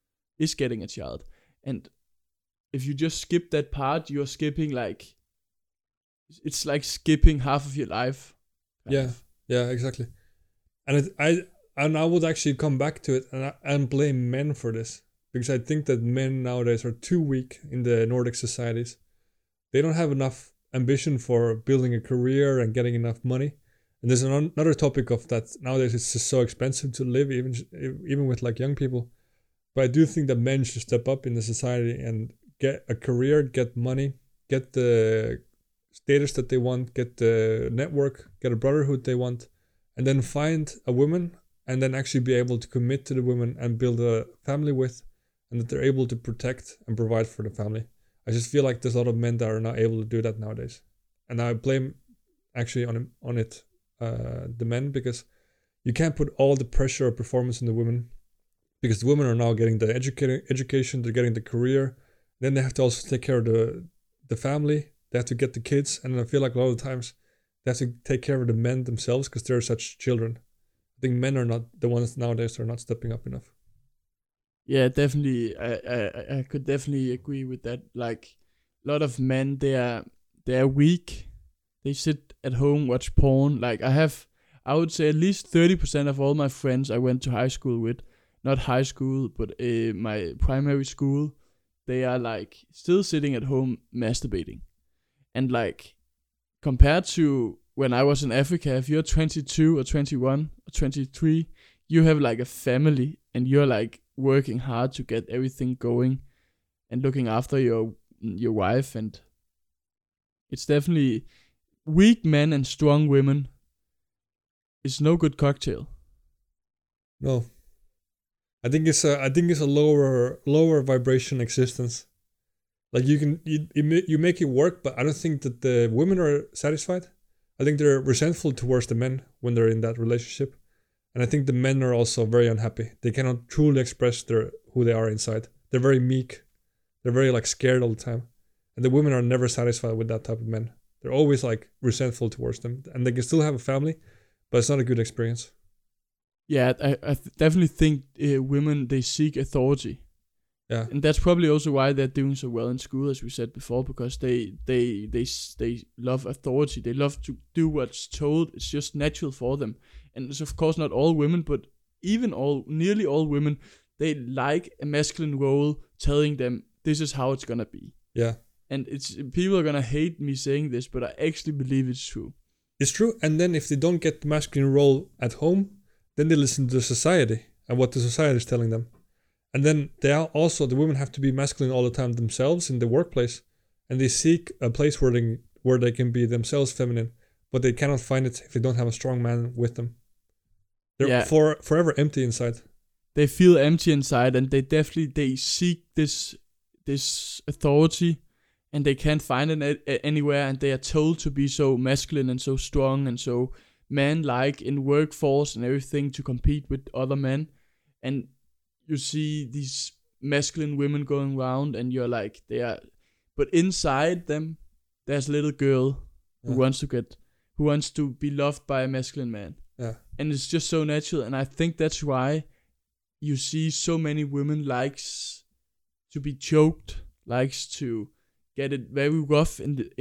And if you just skip that part, you're skipping like, it's like skipping half of your life. Yeah, exactly. And I would actually come back to it and blame men for this, because I think that men nowadays are too weak in the Nordic societies. They don't have enough ambition for building a career and getting enough money. And there's another topic of that nowadays. It's just so expensive to live, even with like young people. But I do think that men should step up in the society and get a career, get money, get the status that they want, get the network, get a brotherhood they want, and then find a woman and then actually be able to commit to the woman and build a family with, and that they're able to protect and provide for the family. I just feel like there's a lot of men that are not able to do that nowadays. And I blame actually on it the men, because you can't put all the pressure of performance on the women, because the women are now getting the education, they're getting the career, then they have to also take care of the family, they have to get the kids, and I feel like a lot of times they have to take care of the men themselves because they're such children. I think men are not the ones nowadays that are not stepping up enough. Yeah, definitely. I could definitely agree with that. Like, a lot of men, they are weak. They sit at home, watch porn. Like, I would say at least 30% of all my friends I went to high school with, not high school, but my primary school, they are like still sitting at home masturbating. And like, compared to when I was in Africa, if you're 22 or 21 or 23, you have like a family and you're like working hard to get everything going and looking after your wife. And it's definitely weak men and strong women. It's no good cocktail. No. I think it's a lower vibration existence. Like you make it work, but I don't think that the women are satisfied. I think they're resentful towards the men when they're in that relationship, and I think the men are also very unhappy. They cannot truly express who they are inside. They're very meek. They're very like scared all the time, and the women are never satisfied with that type of men. They're always like resentful towards them, and they can still have a family, but it's not a good experience. Yeah, I definitely think women, they seek authority. Yeah. And that's probably also why they're doing so well in school, as we said before, because they love authority. They love to do what's told. It's just natural for them. And it's of course not all women, but nearly all women, they like a masculine role telling them this is how it's gonna be. Yeah. And people are gonna hate me saying this, but I actually believe it's true. It's true. And then if they don't get the masculine role at home, then they listen to the society and what the society is telling them. And then the women have to be masculine all the time themselves in the workplace, and they seek a place where they can be themselves feminine, but they cannot find it if they don't have a strong man with them. They're forever empty inside. They feel empty inside, and they seek this authority, and they can't find it anywhere, and they are told to be so masculine and so strong and so man-like in workforce and everything to compete with other men. And you see these masculine women going around, and you're like, but inside them, there's a little girl who wants to be loved by a masculine man. Yeah. And it's just so natural, and I think that's why you see so many women likes to be choked, likes to get it very rough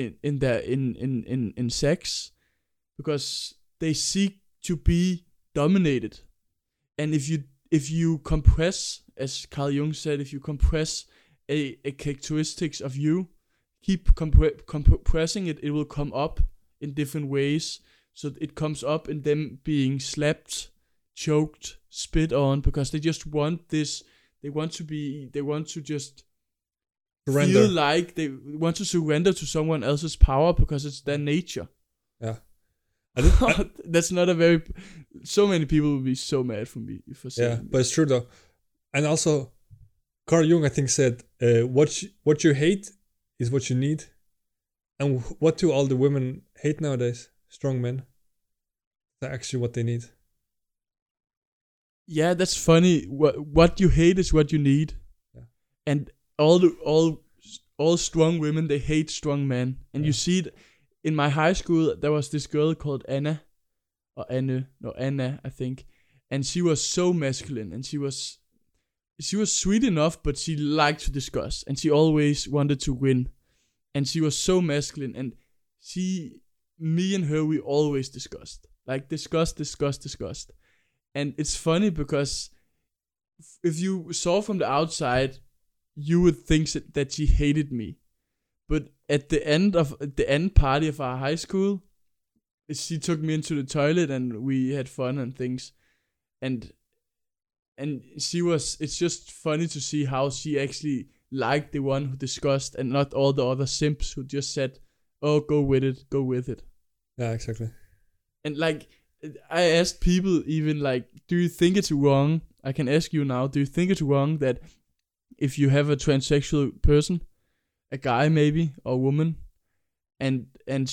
in sex, because they seek to be dominated. And if you compress, as Carl Jung said, if you compress a characteristics of you, keep compressing it, it will come up in different ways. So it comes up in them being slapped, choked, spit on, because they just want this. They want to just surrender. Feel like they want to surrender to someone else's power because it's their nature. Yeah. That's not a very. So many people will be so mad for me for saying. Yeah, but it's true though, and also, Carl Jung I think said, "What you hate is what you need," and what do all the women hate nowadays? Strong men. That's actually what they need. Yeah, that's funny. What you hate is what you need, and all strong women, they hate strong men, and you see it. In my high school, there was this girl called Anna, I think, and she was so masculine, and she was sweet enough, but she liked to discuss, and she always wanted to win, and she was so masculine, and me and her, we always discussed, and it's funny because if you saw from the outside, you would think that she hated me. But at the end party of our high school, she took me into the toilet and we had fun and things. And it's just funny to see how she actually liked the one who discussed and not all the other simps who just said, oh, go with it. Yeah, exactly. And like, I asked people even like, do you think it's wrong? I can ask you now, do you think it's wrong that if you have a transsexual person, a guy maybe or a woman, and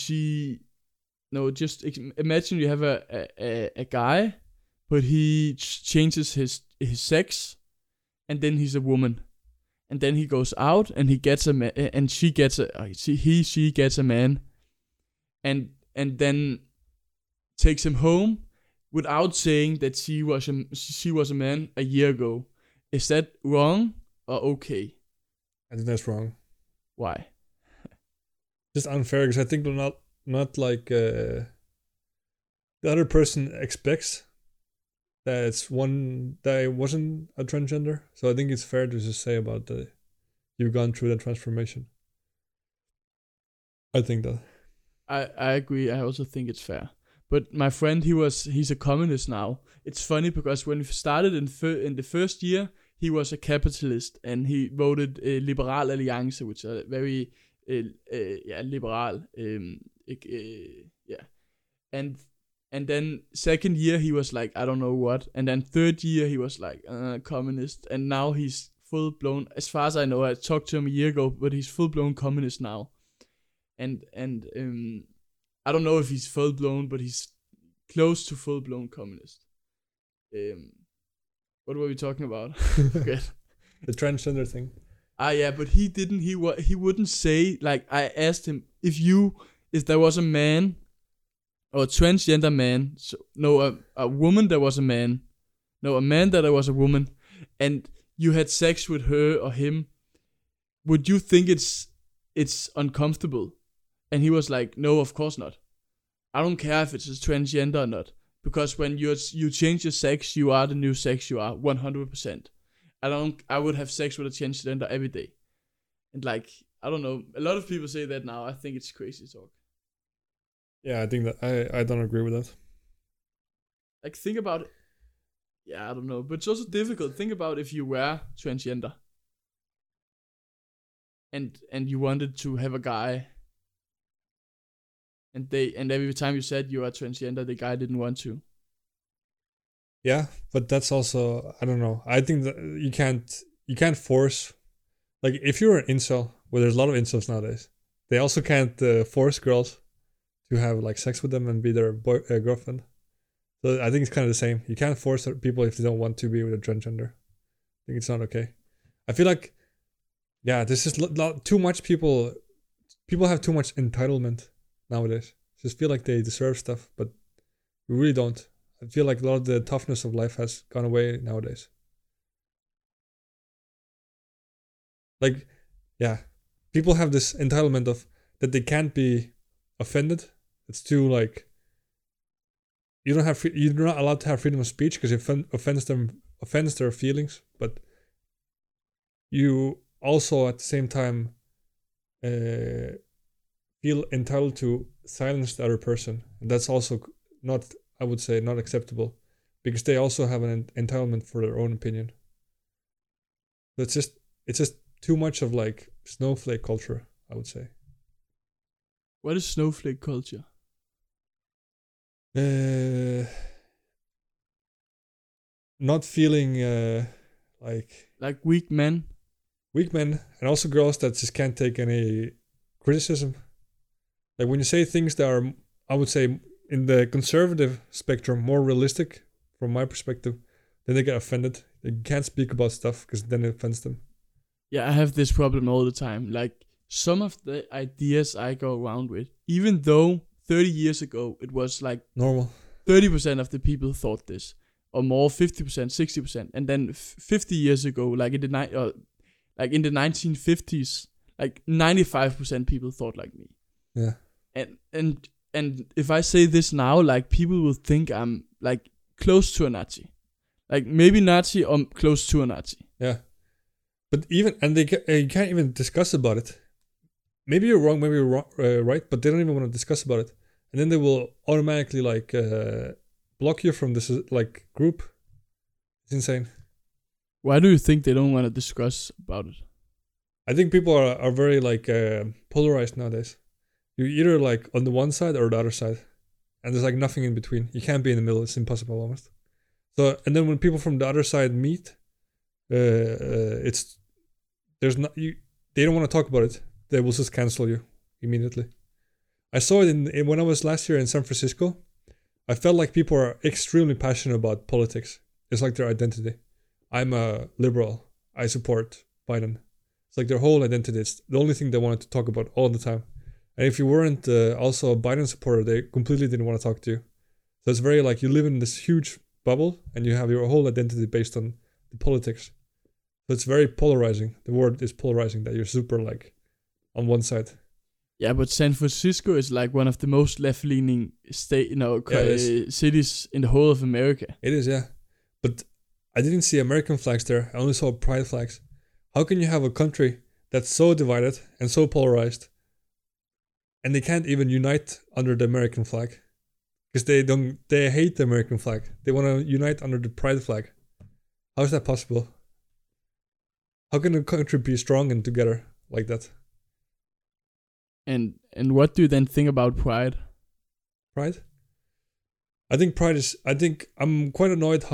just imagine you have a guy, but he changes his sex, and then he's a woman, and then he goes out and he gets a man, and she gets a man, and then takes him home without saying that she was a man a year ago. Is that wrong or okay? I think that's wrong. Why? Just unfair, because I think they're not like the other person expects that it wasn't a transgender. So I think it's fair to just say about you've gone through that transformation. I think that. I agree. I also think it's fair. But my friend, he's a communist now. It's funny because when we started in the first year, he was a capitalist, and he voted Liberal Alliance, which are very liberal. And And then second year he was like, I don't know what. And then third year he was like, communist. And now he's full blown, as far as I know, I talked to him a year ago, but he's full blown communist now. And I don't know if he's full blown, but he's close to full blown communist. What were we talking about? Forget. The transgender thing. Yeah, but he didn't. He wouldn't say, like, I asked him if there was a man or a transgender man. So, no, a woman that was a man. No, a man that was a woman, and you had sex with her or him. Would you think it's uncomfortable? And he was like, no, of course not. I don't care if it's a transgender or not, because when you change your sex, you are the new sex you are 100%. I would have sex with a transgender every day. And like, I don't know, a lot of people say that now. I think it's crazy talk. Yeah, I think that I don't agree with that. Like, think about it. Yeah, I don't know, but it's also difficult. Think about if you were transgender and you wanted to have a guy, and every time you said you are transgender, the guy didn't want to. Yeah, but that's also, I don't know. I think that you can't force, like, if you're an incel, well, there's a lot of incels nowadays. They also can't force girls to have like sex with them and be their girlfriend. So I think it's kind of the same. You can't force people if they don't want to be with a transgender. I think it's not okay. I feel like, yeah, this is too much people have too much entitlement nowadays. Just feel like they deserve stuff, but you really don't. I feel like a lot of the toughness of life has gone away nowadays. Like, yeah, people have this entitlement of that they can't be offended. It's too like, you're not allowed to have freedom of speech because it offends their feelings. But you also at the same time feel entitled to silence the other person, and that's also not, I would say, not acceptable, because they also have an entitlement for their own opinion. So it's just too much of like snowflake culture, I would say. What is snowflake culture? Not feeling like weak men, and also girls that just can't take any criticism. Like when you say things that are, I would say, in the conservative spectrum, more realistic from my perspective, then they get offended. They can't speak about stuff because then it offends them. Yeah, I have this problem all the time. Like, some of the ideas I go around with, even though 30 years ago it was like normal, 30% of the people thought this, or more, 50%, 60%, and then 50 years ago, like in the 1950s, like 95% people thought like me. Yeah. And if I say this now, like, people will think I'm like close to a Nazi, like maybe Nazi or close to a Nazi. Yeah, but you can't even discuss about it. Maybe you're wrong, maybe you're wrong, right, but they don't even want to discuss about it, and then they will automatically like block you from this like group. It's insane. Why do you think they don't want to discuss about it? I think people are very like polarized nowadays. You're either like on the one side or the other side, and there's like nothing in between. You can't be in the middle. It's impossible almost. So, and then when people from the other side meet, they don't want to talk about it. They will just cancel you immediately. I saw it in when I was last year in San Francisco. I felt like people are extremely passionate about politics. It's like their identity. I'm a liberal. I support Biden. It's like their whole identity. It's the only thing they wanted to talk about all the time. And if you weren't also a Biden supporter, they completely didn't want to talk to you. So it's very like you live in this huge bubble and you have your whole identity based on the politics. So it's very polarizing. The word is polarizing, that you're super like on one side. Yeah, but San Francisco is like one of the most left-leaning cities in the whole of America. It is, yeah. But I didn't see American flags there. I only saw pride flags. How can you have a country that's so divided and so polarized, and they can't even unite under the American flag? Because they hate the American flag. They want to unite under the pride flag. How is that possible? How can a country be strong and together like that? And what do you then think about pride? Pride? I think Pride is. I think I'm quite annoyed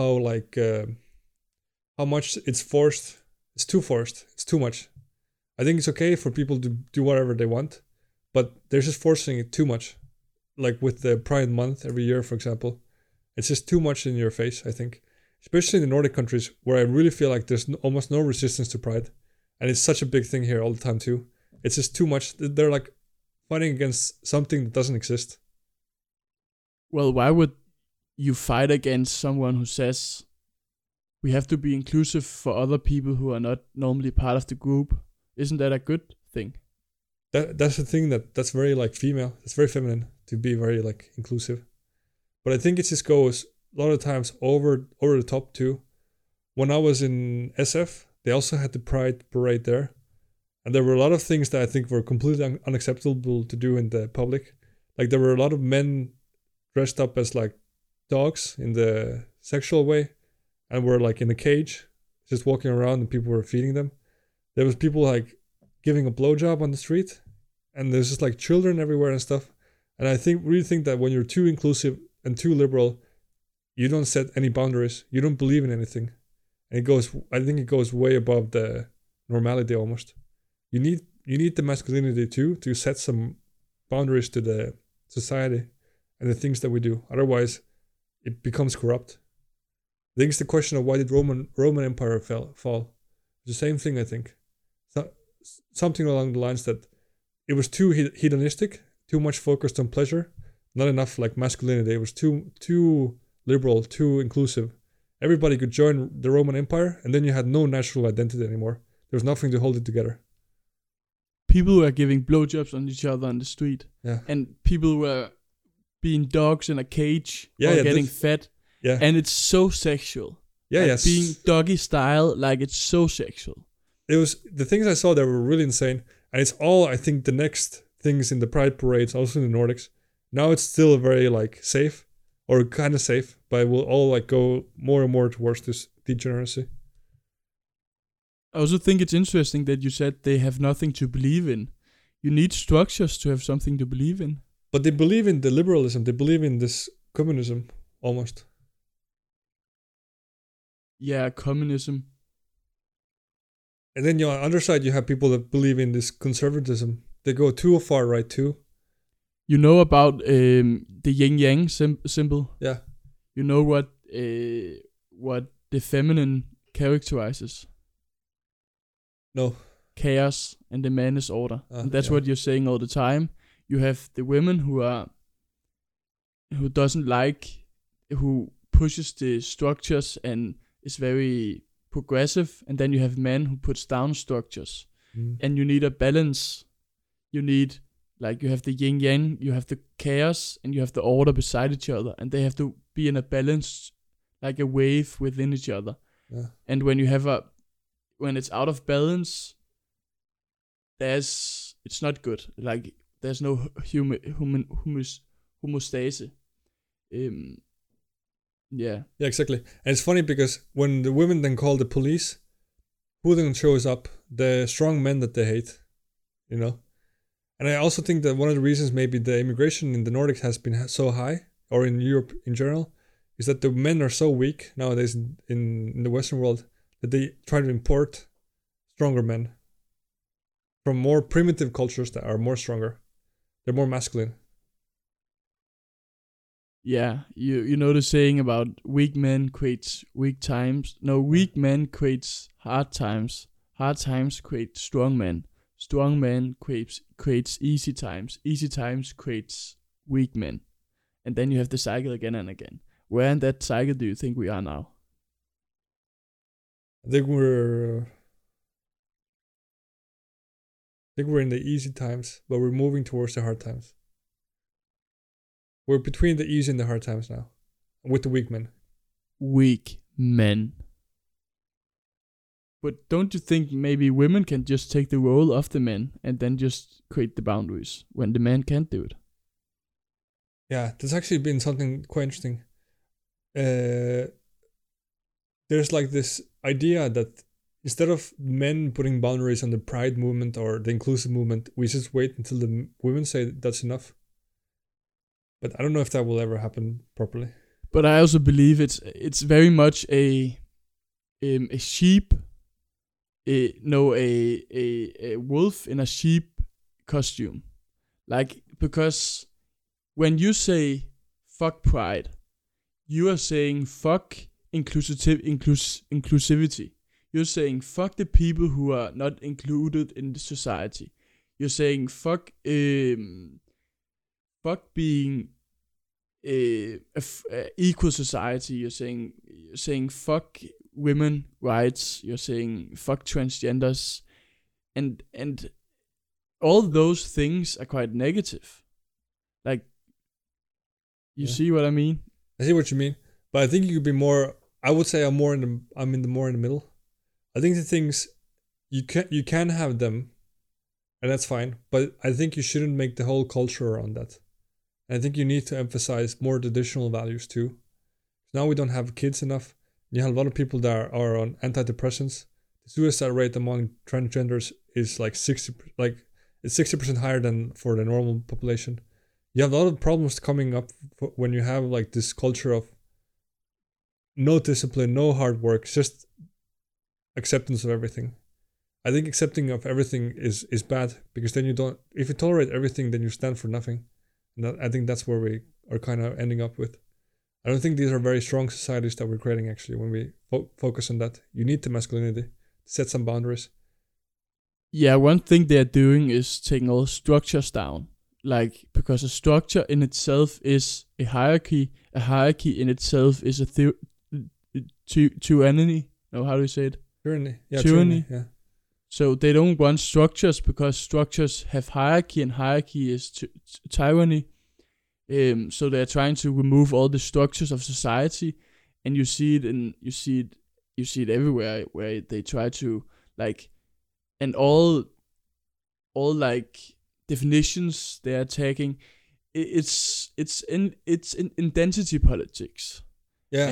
how much it's forced. It's too forced. It's too much. I think it's okay for people to do whatever they want, but they're just forcing it too much. Like with the Pride Month every year, for example, it's just too much in your face. I think, especially in the Nordic countries, where I really feel like there's almost no resistance to Pride, and it's such a big thing here all the time too. It's just too much. They're like fighting against something that doesn't exist. Well, why would you fight against someone who says we have to be inclusive for other people who are not normally part of the group? Isn't that a good thing? That's the thing that's very like female. It's very feminine to be very like inclusive. But I think it just goes a lot of times over the top too. When I was in SF, they also had the Pride parade there, and there were a lot of things that I think were completely unacceptable to do in the public. Like there were a lot of men dressed up as like dogs in the sexual way, and were like in a cage, just walking around, and people were feeding them. There was people like giving a blowjob on the street, and there's just like children everywhere and stuff. And I really think that when you're too inclusive and too liberal, you don't set any boundaries. You don't believe in anything, and I think it goes way above the normality almost. You need the masculinity too to set some boundaries to the society and the things that we do. Otherwise, it becomes corrupt. I think it's the question of why did Roman Empire fall? It's the same thing, I think. Something along the lines that it was too hedonistic, too much focused on pleasure, not enough like masculinity. It was too liberal, too inclusive. Everybody could join the Roman Empire, and then you had no national identity anymore. There was nothing to hold it together. People were giving blowjobs on each other on the street. Yeah. And people were being dogs in a cage or getting fed. Yeah. And it's so sexual. Yeah, like yes. Being doggy style, like it's so sexual. It was the things I saw that were really insane. And it's all, I think, the next things in the Pride parades, also in the Nordics. Now it's still very like safe, or kind of safe, but it will all like go more and more towards this degeneracy. I also think it's interesting that you said they have nothing to believe in. You need structures to have something to believe in. But they believe in the liberalism. They believe in this communism, almost. Yeah, communism. And then on the other side, you have people that believe in this conservatism. They go too far right too. You know about the yin-yang symbol? Yeah. You know what the feminine characterizes? No. Chaos, and the man is order. And that's what you're saying all the time. You have the women who pushes the structures and is very progressive, and then you have men who puts down structures. And you need a balance. You need, like, you have the yin yang, you have the chaos, and you have the order beside each other, and they have to be in a balance, like a wave within each other. Yeah. And when it's out of balance, it's not good. Like there's no homeostase. Yeah, exactly. And it's funny because when the women then call the police, who then shows up? The strong men that they hate, you know. And I also think that one of the reasons maybe the immigration in the Nordics has been so high, or in Europe in general, is that the men are so weak nowadays in the Western world that they try to import stronger men from more primitive cultures that are more stronger. They're more masculine. Yeah, you know the saying about weak men creates weak times. No, weak men creates hard times. Hard times create strong men. Strong men creates easy times. Easy times creates weak men. And then you have the cycle again and again. Where in that cycle do you think we are now? I think we're in the easy times, but we're moving towards the hard times. We're between the easy and the hard times now, with the weak men. Weak men. But don't you think maybe women can just take the role of the men and then just create the boundaries when the man can't do it? Yeah, there's actually been something quite interesting. There's like this idea that instead of men putting boundaries on the pride movement or the inclusive movement, we just wait until the women say that's enough. But I don't know if that will ever happen properly. But I also believe it's very much a sheep, a wolf in a sheep costume. Like, because when you say fuck pride, you are saying fuck inclusivity. You're saying fuck the people who are not included in the society. You're saying fuck being equal society. You're saying fuck women rights. You're saying fuck transgenders, and all those things are quite negative. Like, you see what I mean? I see what you mean, but I think you could be more. I would say I'm more in the middle. I think the things you can have them, and that's fine. But I think you shouldn't make the whole culture around that. And I think you need to emphasize more traditional values too. Now we don't have kids enough. You have a lot of people that are on antidepressants. The suicide rate among transgenders is like 60% higher than for the normal population. You have a lot of problems coming up when you have like this culture of no discipline, no hard work, just acceptance of everything. I think accepting of everything is bad, because then if you tolerate everything, then you stand for nothing. And I think that's where we are kind of ending up with. I don't think these are very strong societies that we're creating, actually, when we focus on that. You need the masculinity to set some boundaries. Yeah, one thing they're doing is taking all structures down. Like, because a structure in itself is a hierarchy. A hierarchy in itself is a tyranny. No, how do you say it? Tyranny. Yeah, tyranny. Yeah. So they don't want structures because structures have hierarchy, and hierarchy is tyranny. So they're trying to remove all the structures of society, and you see it everywhere, where they try to, like, and all like definitions they are taking, it's in identity politics. Yeah.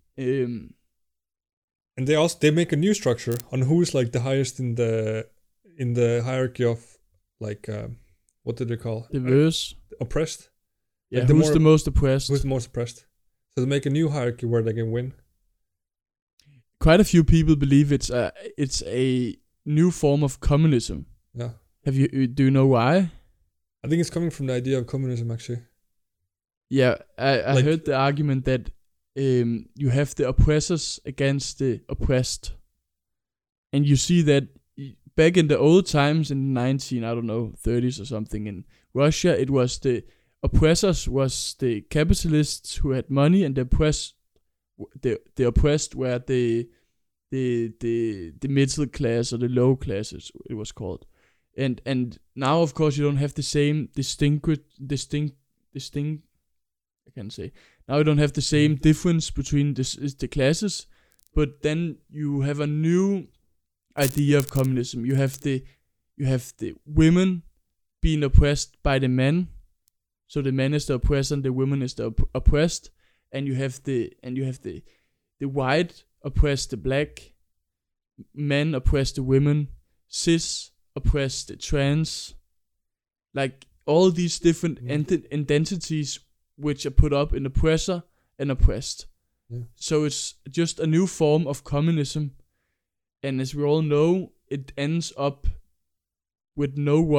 And they make a new structure on who is like the highest in the hierarchy of, like, what did they call diverse, oppressed. Yeah, like who's the most oppressed? Who's the most oppressed? So they make a new hierarchy where they can win. Quite a few people believe it's a new form of communism. Yeah. Do you know why? I think it's coming from the idea of communism, actually. Yeah, I heard the argument that you have the oppressors against the oppressed, and you see that back in the old times in the 30s or something, in Russia, it was the oppressors was the capitalists who had money, and the oppressed were the middle class, or the low classes, it was called. And now, of course, you don't have the same I can't say. Now you don't have the same difference between the classes, but then you have a new idea of communism. You have the women being oppressed by the men, so the man is the oppressor and the woman is the oppressed, and you have the white oppress the black, men oppress the women, cis oppress the trans, like all these different identities which are put up in oppressor and oppressed. Yeah. So it's just a new form of communism, and as we all know, it ends up with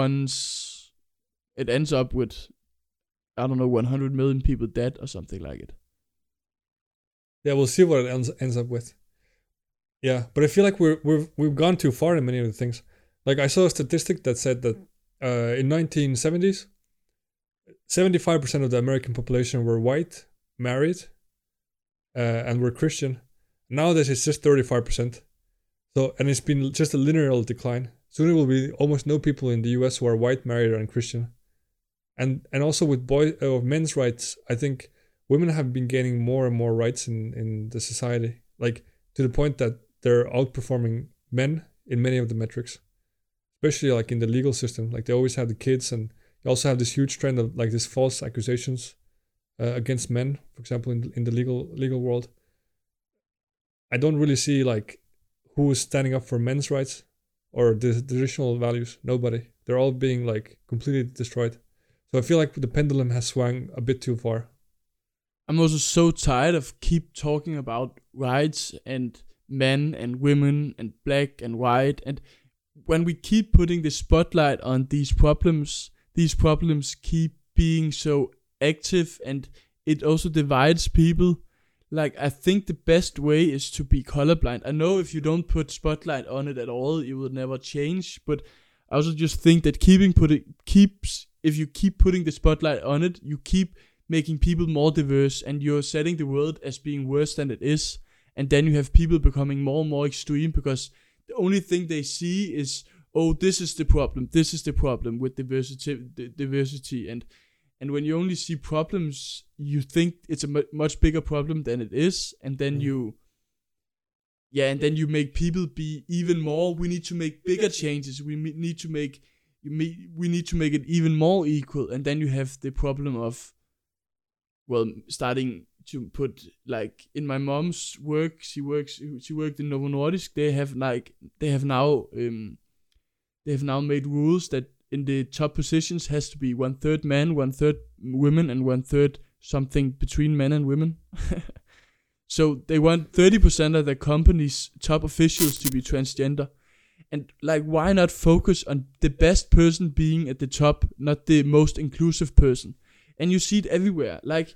100 million people dead or something like it. Yeah, we'll see what it ends up with. Yeah, but I feel like we've gone too far in many of the things. Like, I saw a statistic that said that in 1970s, 75% of the American population were white, married, and were Christian. Nowadays it's just 35%. So, and it's been just a linear decline. Soon it will be almost no people in the US who are white, married, and Christian. And also with men's rights, I think women have been gaining more and more rights in the society, like to the point that they're outperforming men in many of the metrics, especially like in the legal system. Like, they always have the kids, and you also have this huge trend of like these false accusations against men, for example, in the legal world. I don't really see like who is standing up for men's rights or the traditional values. Nobody. They're all being like completely destroyed. So I feel like the pendulum has swung a bit too far. I'm also so tired of keep talking about rights and men and women and black and white, and when we keep putting the spotlight on these problems keep being so active, and it also divides people. Like, I think the best way is to be colorblind. I know if you don't put spotlight on it at all, it will never change, but I also just think that if you keep putting the spotlight on it, you keep making people more diverse, and you're setting the world as being worse than it is, and then you have people becoming more and more extreme because the only thing they see is, oh, this is the problem with diversity, and when you only see problems, you think it's a much bigger problem than it is, and then you make people be even more. We need to make bigger changes. We need to make it even more equal, and then you have the problem of, well, starting to put, like, in my mom's work, she worked in Novo Nordisk. They have now made rules that in the top positions has to be 1/3 men, 1/3 women, and 1/3 something between men and women. So they want 30% of the company's top officials to be transgender. And, like, why not focus on the best person being at the top, not the most inclusive person? And you see it everywhere. Like,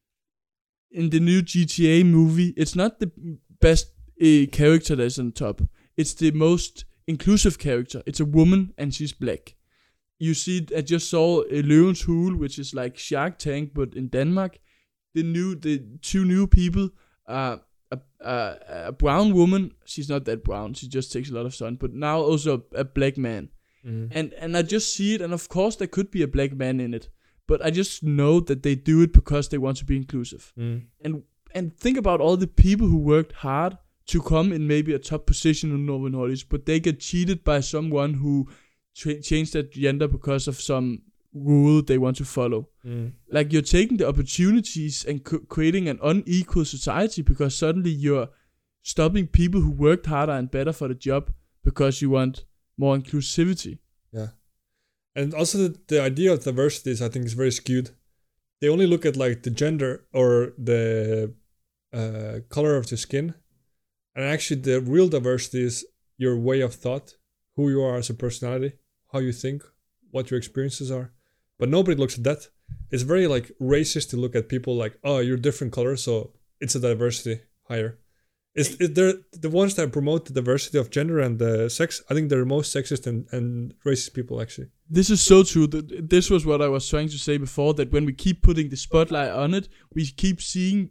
in the new GTA movie, it's not the best character that's on top. It's the most inclusive character. It's a woman, and she's black. You see it, I just saw Løvens Hule, which is like Shark Tank, but in Denmark. The two new people are a brown woman. She's not that brown. She just takes a lot of sun. But now also a black man. And I just see it, and of course there could be a black man in it. But I just know that they do it because they want to be inclusive. And think about all the people who worked hard to come in maybe a top position in Novo Nordisk, but they get cheated by someone who changed their gender because of some rule they want to follow. Like, you're taking the opportunities and creating an unequal society because suddenly you're stopping people who worked harder and better for the job because you want more inclusivity. Yeah. And also the idea of diversity is, I think, is very skewed. They only look at, like, the gender or the color of the skin. And actually the real diversity is your way of thought, who you are as a personality, how you think, what your experiences are. But nobody looks at that. It's very, like, racist to look at people like, oh, you're different color, so it's a diversity higher. They're the ones that promote the diversity of gender and the sex. I think they're the most sexist and racist people, actually. This is so true. This was what I was trying to say before, that when we keep putting the spotlight on it, we keep seeing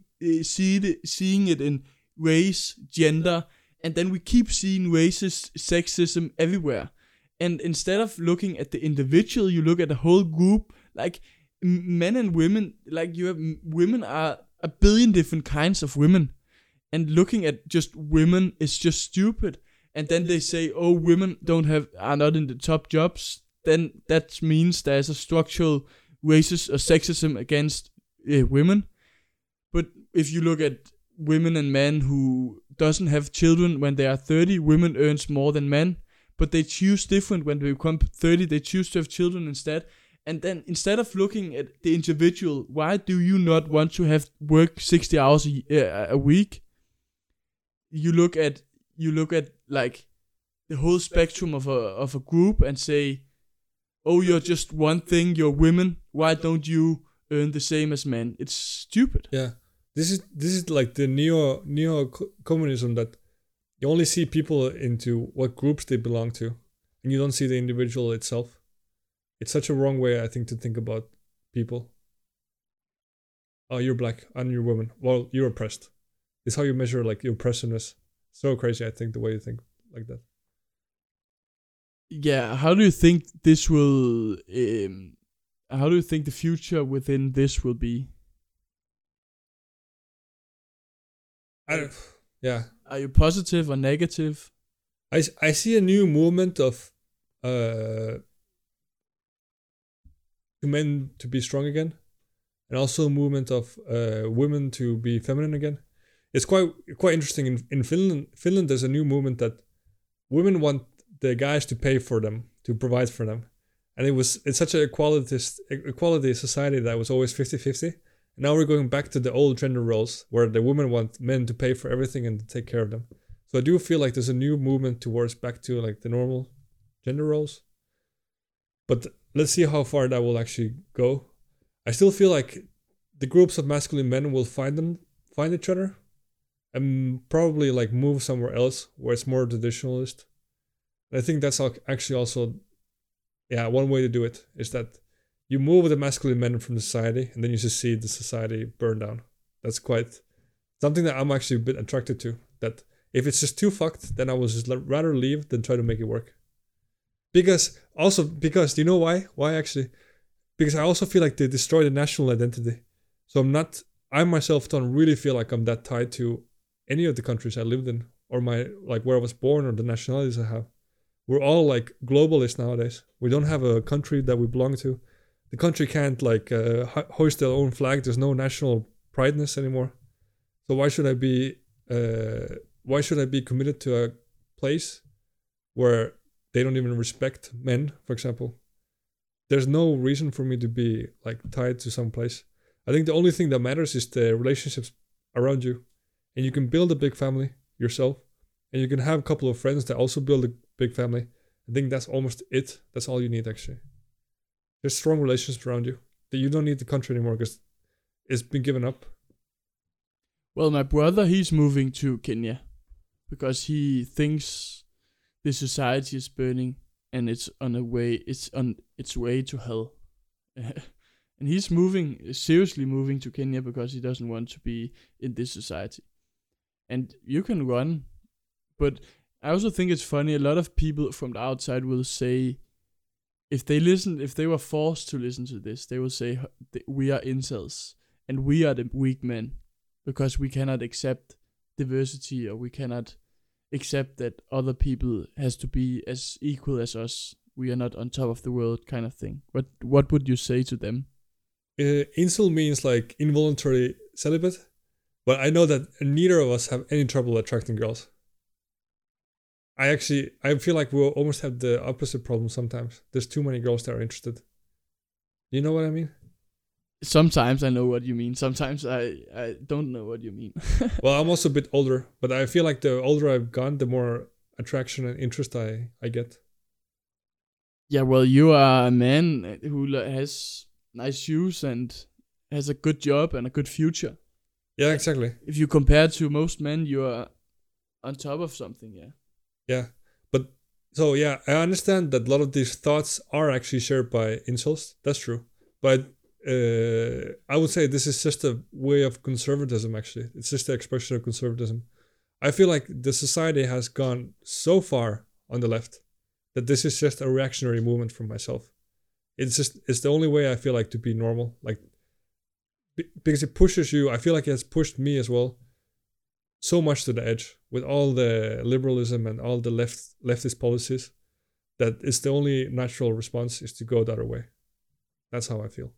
it in race, gender, and then we keep seeing racist sexism everywhere. And instead of looking at the individual, you look at the whole group. Like, men and women, like, women are a billion different kinds of women. And looking at just women is just stupid. And then they say, oh, women are not in the top jobs. Then that means there's a structural racist or sexism against women. But if you look at women and men who doesn't have children when they are 30, women earns more than men. But they choose different when they become 30. They choose to have children instead. And then instead of looking at the individual, why do you not want to have work 60 hours a week? You look at like the whole spectrum of a group and say, oh, you're just one thing. You're women. Why don't you earn the same as men? It's stupid. Yeah, this is like the neo communism, that you only see people into what groups they belong to, and you don't see the individual itself. It's such a wrong way, I think, to think about people. Oh, you're black and you're woman. Well, you're oppressed. It's how you measure, like, your oppressiveness. So crazy, I think, the way you think like that. Yeah, how do you think this will? How do you think the future within this will be? Yeah. Are you positive or negative? I see a new movement of men to be strong again, and also a movement of women to be feminine again. It's quite interesting. In Finland, there's a new movement that women want the guys to pay for them, to provide for them, and it's such a equality society that was always 50-50, Now we're going back to the old gender roles where the women want men to pay for everything and to take care of them. So I do feel like there's a new movement towards back to like the normal gender roles. But let's see how far that will actually go. I still feel like the groups of masculine men will find each other and probably like move somewhere else where it's more traditionalist. And I think that's actually also, one way to do it is that you move the masculine men from the society and then you just see the society burn down. That's quite something that I'm actually a bit attracted to. That if it's just too fucked, then I will just rather leave than try to make it work. Because do you know why? Why actually? Because I also feel like they destroy the national identity. So I myself don't really feel like I'm that tied to any of the countries I lived in or my, like where I was born or the nationalities I have. We're all like globalists nowadays. We don't have a country that we belong to. The country can't like hoist their own flag. There's no national prideness anymore. So why should I be committed to a place where they don't even respect men, for example? There's no reason for me to be like tied to some place. I think the only thing that matters is the relationships around you. And you can build a big family yourself. And you can have a couple of friends that also build a big family. I think that's almost it. That's all you need, actually. There's strong relationships around you. That you don't need the country anymore because it's been given up. Well, my brother, he's moving to Kenya because he thinks the society is burning and it's on its way to hell. And he's seriously moving to Kenya because he doesn't want to be in this society. And you can run, but I also think it's funny, a lot of people from the outside will say, if they were forced to listen to this, they will say, we are incels, and we are the weak men, because we cannot accept diversity, or we cannot accept that other people has to be as equal as us. We are not on top of the world, kind of thing. What would you say to them? Incel means like involuntary celibate, but I know that neither of us have any trouble attracting girls. I feel like we almost have the opposite problem sometimes. There's too many girls that are interested. You know what I mean? Sometimes I know what you mean. Sometimes I don't know what you mean. Well, I'm also a bit older, but I feel like the older I've gone, the more attraction and interest I get. Yeah, well, you are a man who has nice shoes and has a good job and a good future. Yeah, exactly. If you compare to most men, you are on top of something, yeah. Yeah, but so yeah, I understand that a lot of these thoughts are actually shared by incels. That's true, but I would say this is just a way of conservatism. Actually, it's just the expression of conservatism. I feel like the society has gone so far on the left that this is just a reactionary movement from myself. It's the only way I feel like to be normal, like because it pushes you. I feel like it has pushed me as well so much to the edge with all the liberalism and all the leftist policies, that it's the only natural response is to go the other way. That's how I feel.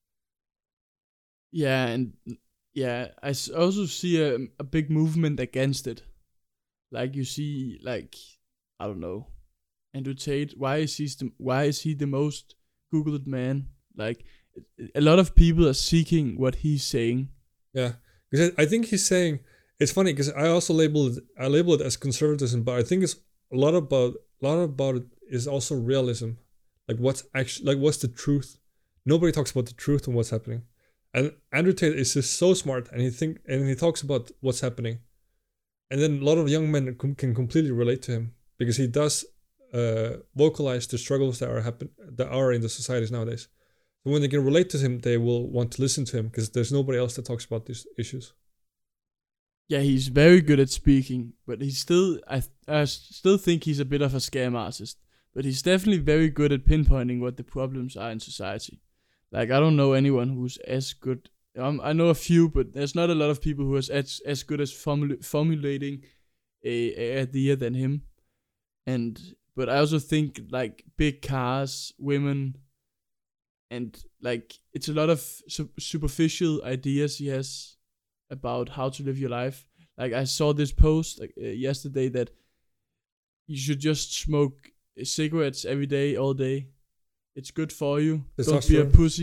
Yeah, and yeah, I also see a big movement against it. Like you see, like, I don't know, Andrew Tate. Why is he the most Googled man? Like, a lot of people are seeking what he's saying. Yeah, because I think he's saying. It's funny because I also label it as conservatism, but I think it's a lot about it is also realism. Like what's the truth? Nobody talks about the truth and what's happening. And Andrew Tate is just so smart, and he talks about what's happening, and then a lot of young men can completely relate to him because he does vocalize the struggles that are in the societies nowadays. So when they can relate to him, they will want to listen to him because there's nobody else that talks about these issues. Yeah, he's very good at speaking, but he's still, I still think he's a bit of a scam artist. But he's definitely very good at pinpointing what the problems are in society. Like, I don't know anyone who's as good. I know a few, but there's not a lot of people who are as good as formulating a idea than him. But I also think, like, big cars, women, and, like, it's a lot of superficial ideas he has about how to live your life. Like, I saw this post yesterday that you should just smoke cigarettes every day, all day. It's good for you. Don't be a pussy.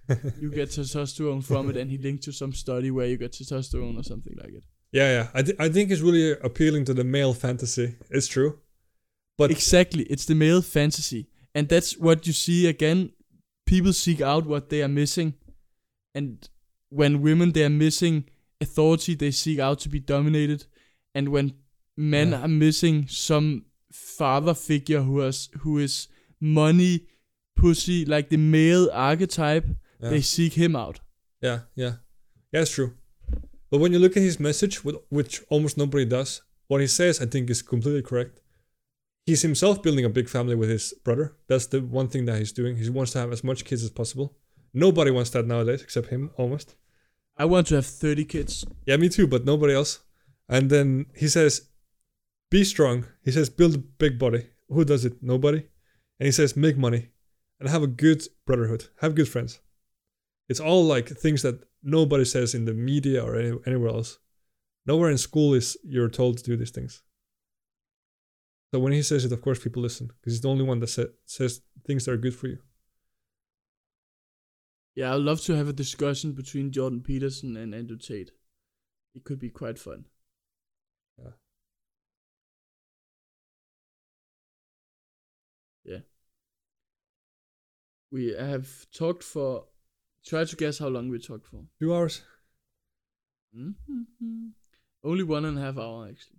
you get testosterone from it, and he linked to some study where you get testosterone or something like it. Yeah. I think it's really appealing to the male fantasy. It's true. But Exactly, it's the male fantasy. And that's what you see again. People seek out what they are missing. And when women, they are missing authority, they seek out to be dominated. And when men are missing some father figure who is money, pussy, like the male archetype, they seek him out. Yeah, it's true. But when you look at his message, which almost nobody does, what he says I think is completely correct. He's himself building a big family with his brother. That's the one thing that he's doing. He wants to have as much kids as possible. Nobody wants that nowadays except him, almost. I want to have 30 kids. Yeah, me too, but nobody else. And then he says, be strong. He says, build a big body. Who does it? Nobody. And he says, make money and have a good brotherhood. Have good friends. It's all like things that nobody says in the media or anywhere else. Nowhere in school you're told to do these things. So when he says it, of course, people listen because he's the only one that says things that are good for you. Yeah, I'd love to have a discussion between Jordan Peterson and Andrew Tate. It could be quite fun. Yeah. We have talked for... Try to guess how long we talked for. 2 hours. Mm-hmm. Only 1.5 hours, actually.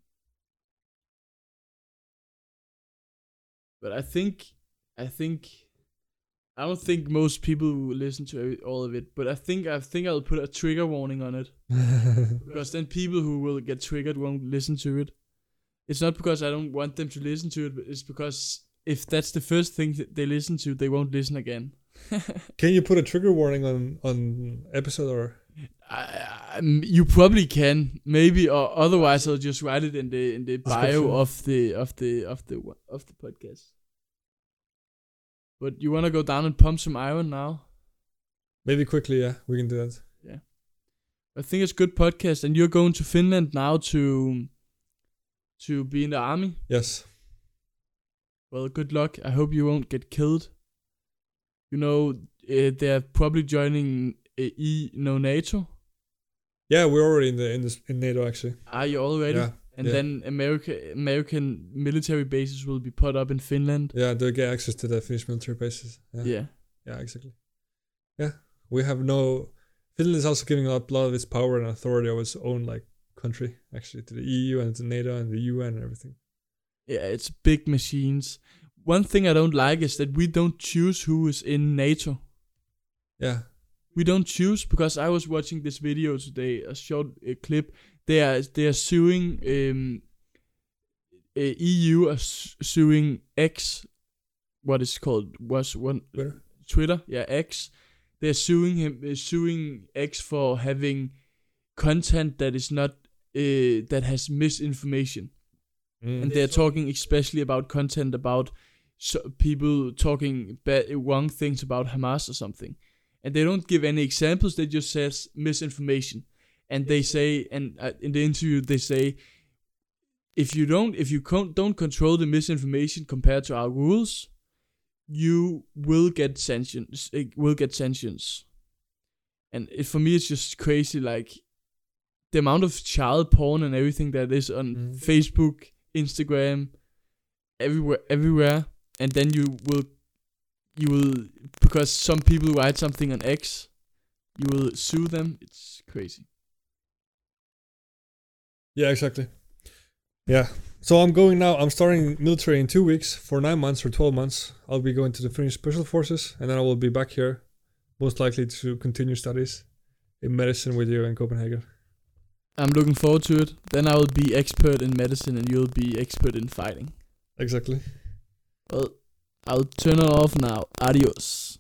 But I don't think most people will listen to all of it. But I think I'll put a trigger warning on it. Because then people who will get triggered won't listen to it. It's not because I don't want them to listen to it, but it's because if that's the first thing that they listen to, they won't listen again. Can you put a trigger warning on episode or? You probably can, maybe, or otherwise I'll just write it in the bio of the podcast. But you wanna go down and pump some iron now? Maybe quickly, yeah, we can do that. Yeah, I think it's a good podcast, and you're going to Finland now to be in the army. Yes. Well, good luck. I hope you won't get killed. You know, they're probably joining NATO. Yeah, we're already in NATO actually. Are you already? Yeah. And then American military bases will be put up in Finland. Yeah, they'll get access to the Finnish military bases. Yeah. Yeah, exactly. Yeah, we have Finland is also giving up a lot of its power and authority of its own country actually to the EU and to NATO and the UN and everything. Yeah, it's big machines. One thing I don't like is that we don't choose who is in NATO. Yeah. We don't choose, because I was watching this video today, a short clip. They are suing EU are suing X, what is called Twitter, yeah, X. They're suing X for having content that is not that has misinformation. And they're talking especially about content about people talking wrong things about Hamas or something. And they don't give any examples, they just says misinformation. And they say, and in the interview they say, if you don't control the misinformation compared to our rules, you will get sanctions. And for me it's just crazy, the amount of child porn and everything that is on Facebook, Instagram, everywhere, and then you will, because some people write something on X, you will sue them. It's crazy. Yeah, exactly. Yeah. So I'm starting military in 2 weeks for 9 months or 12 months. I'll be going to the Finnish Special Forces, and then I will be back here, most likely to continue studies in medicine with you in Copenhagen. I'm looking forward to it. Then I will be expert in medicine and you'll be expert in fighting. Exactly. Well, I'll turn it off now. Adios.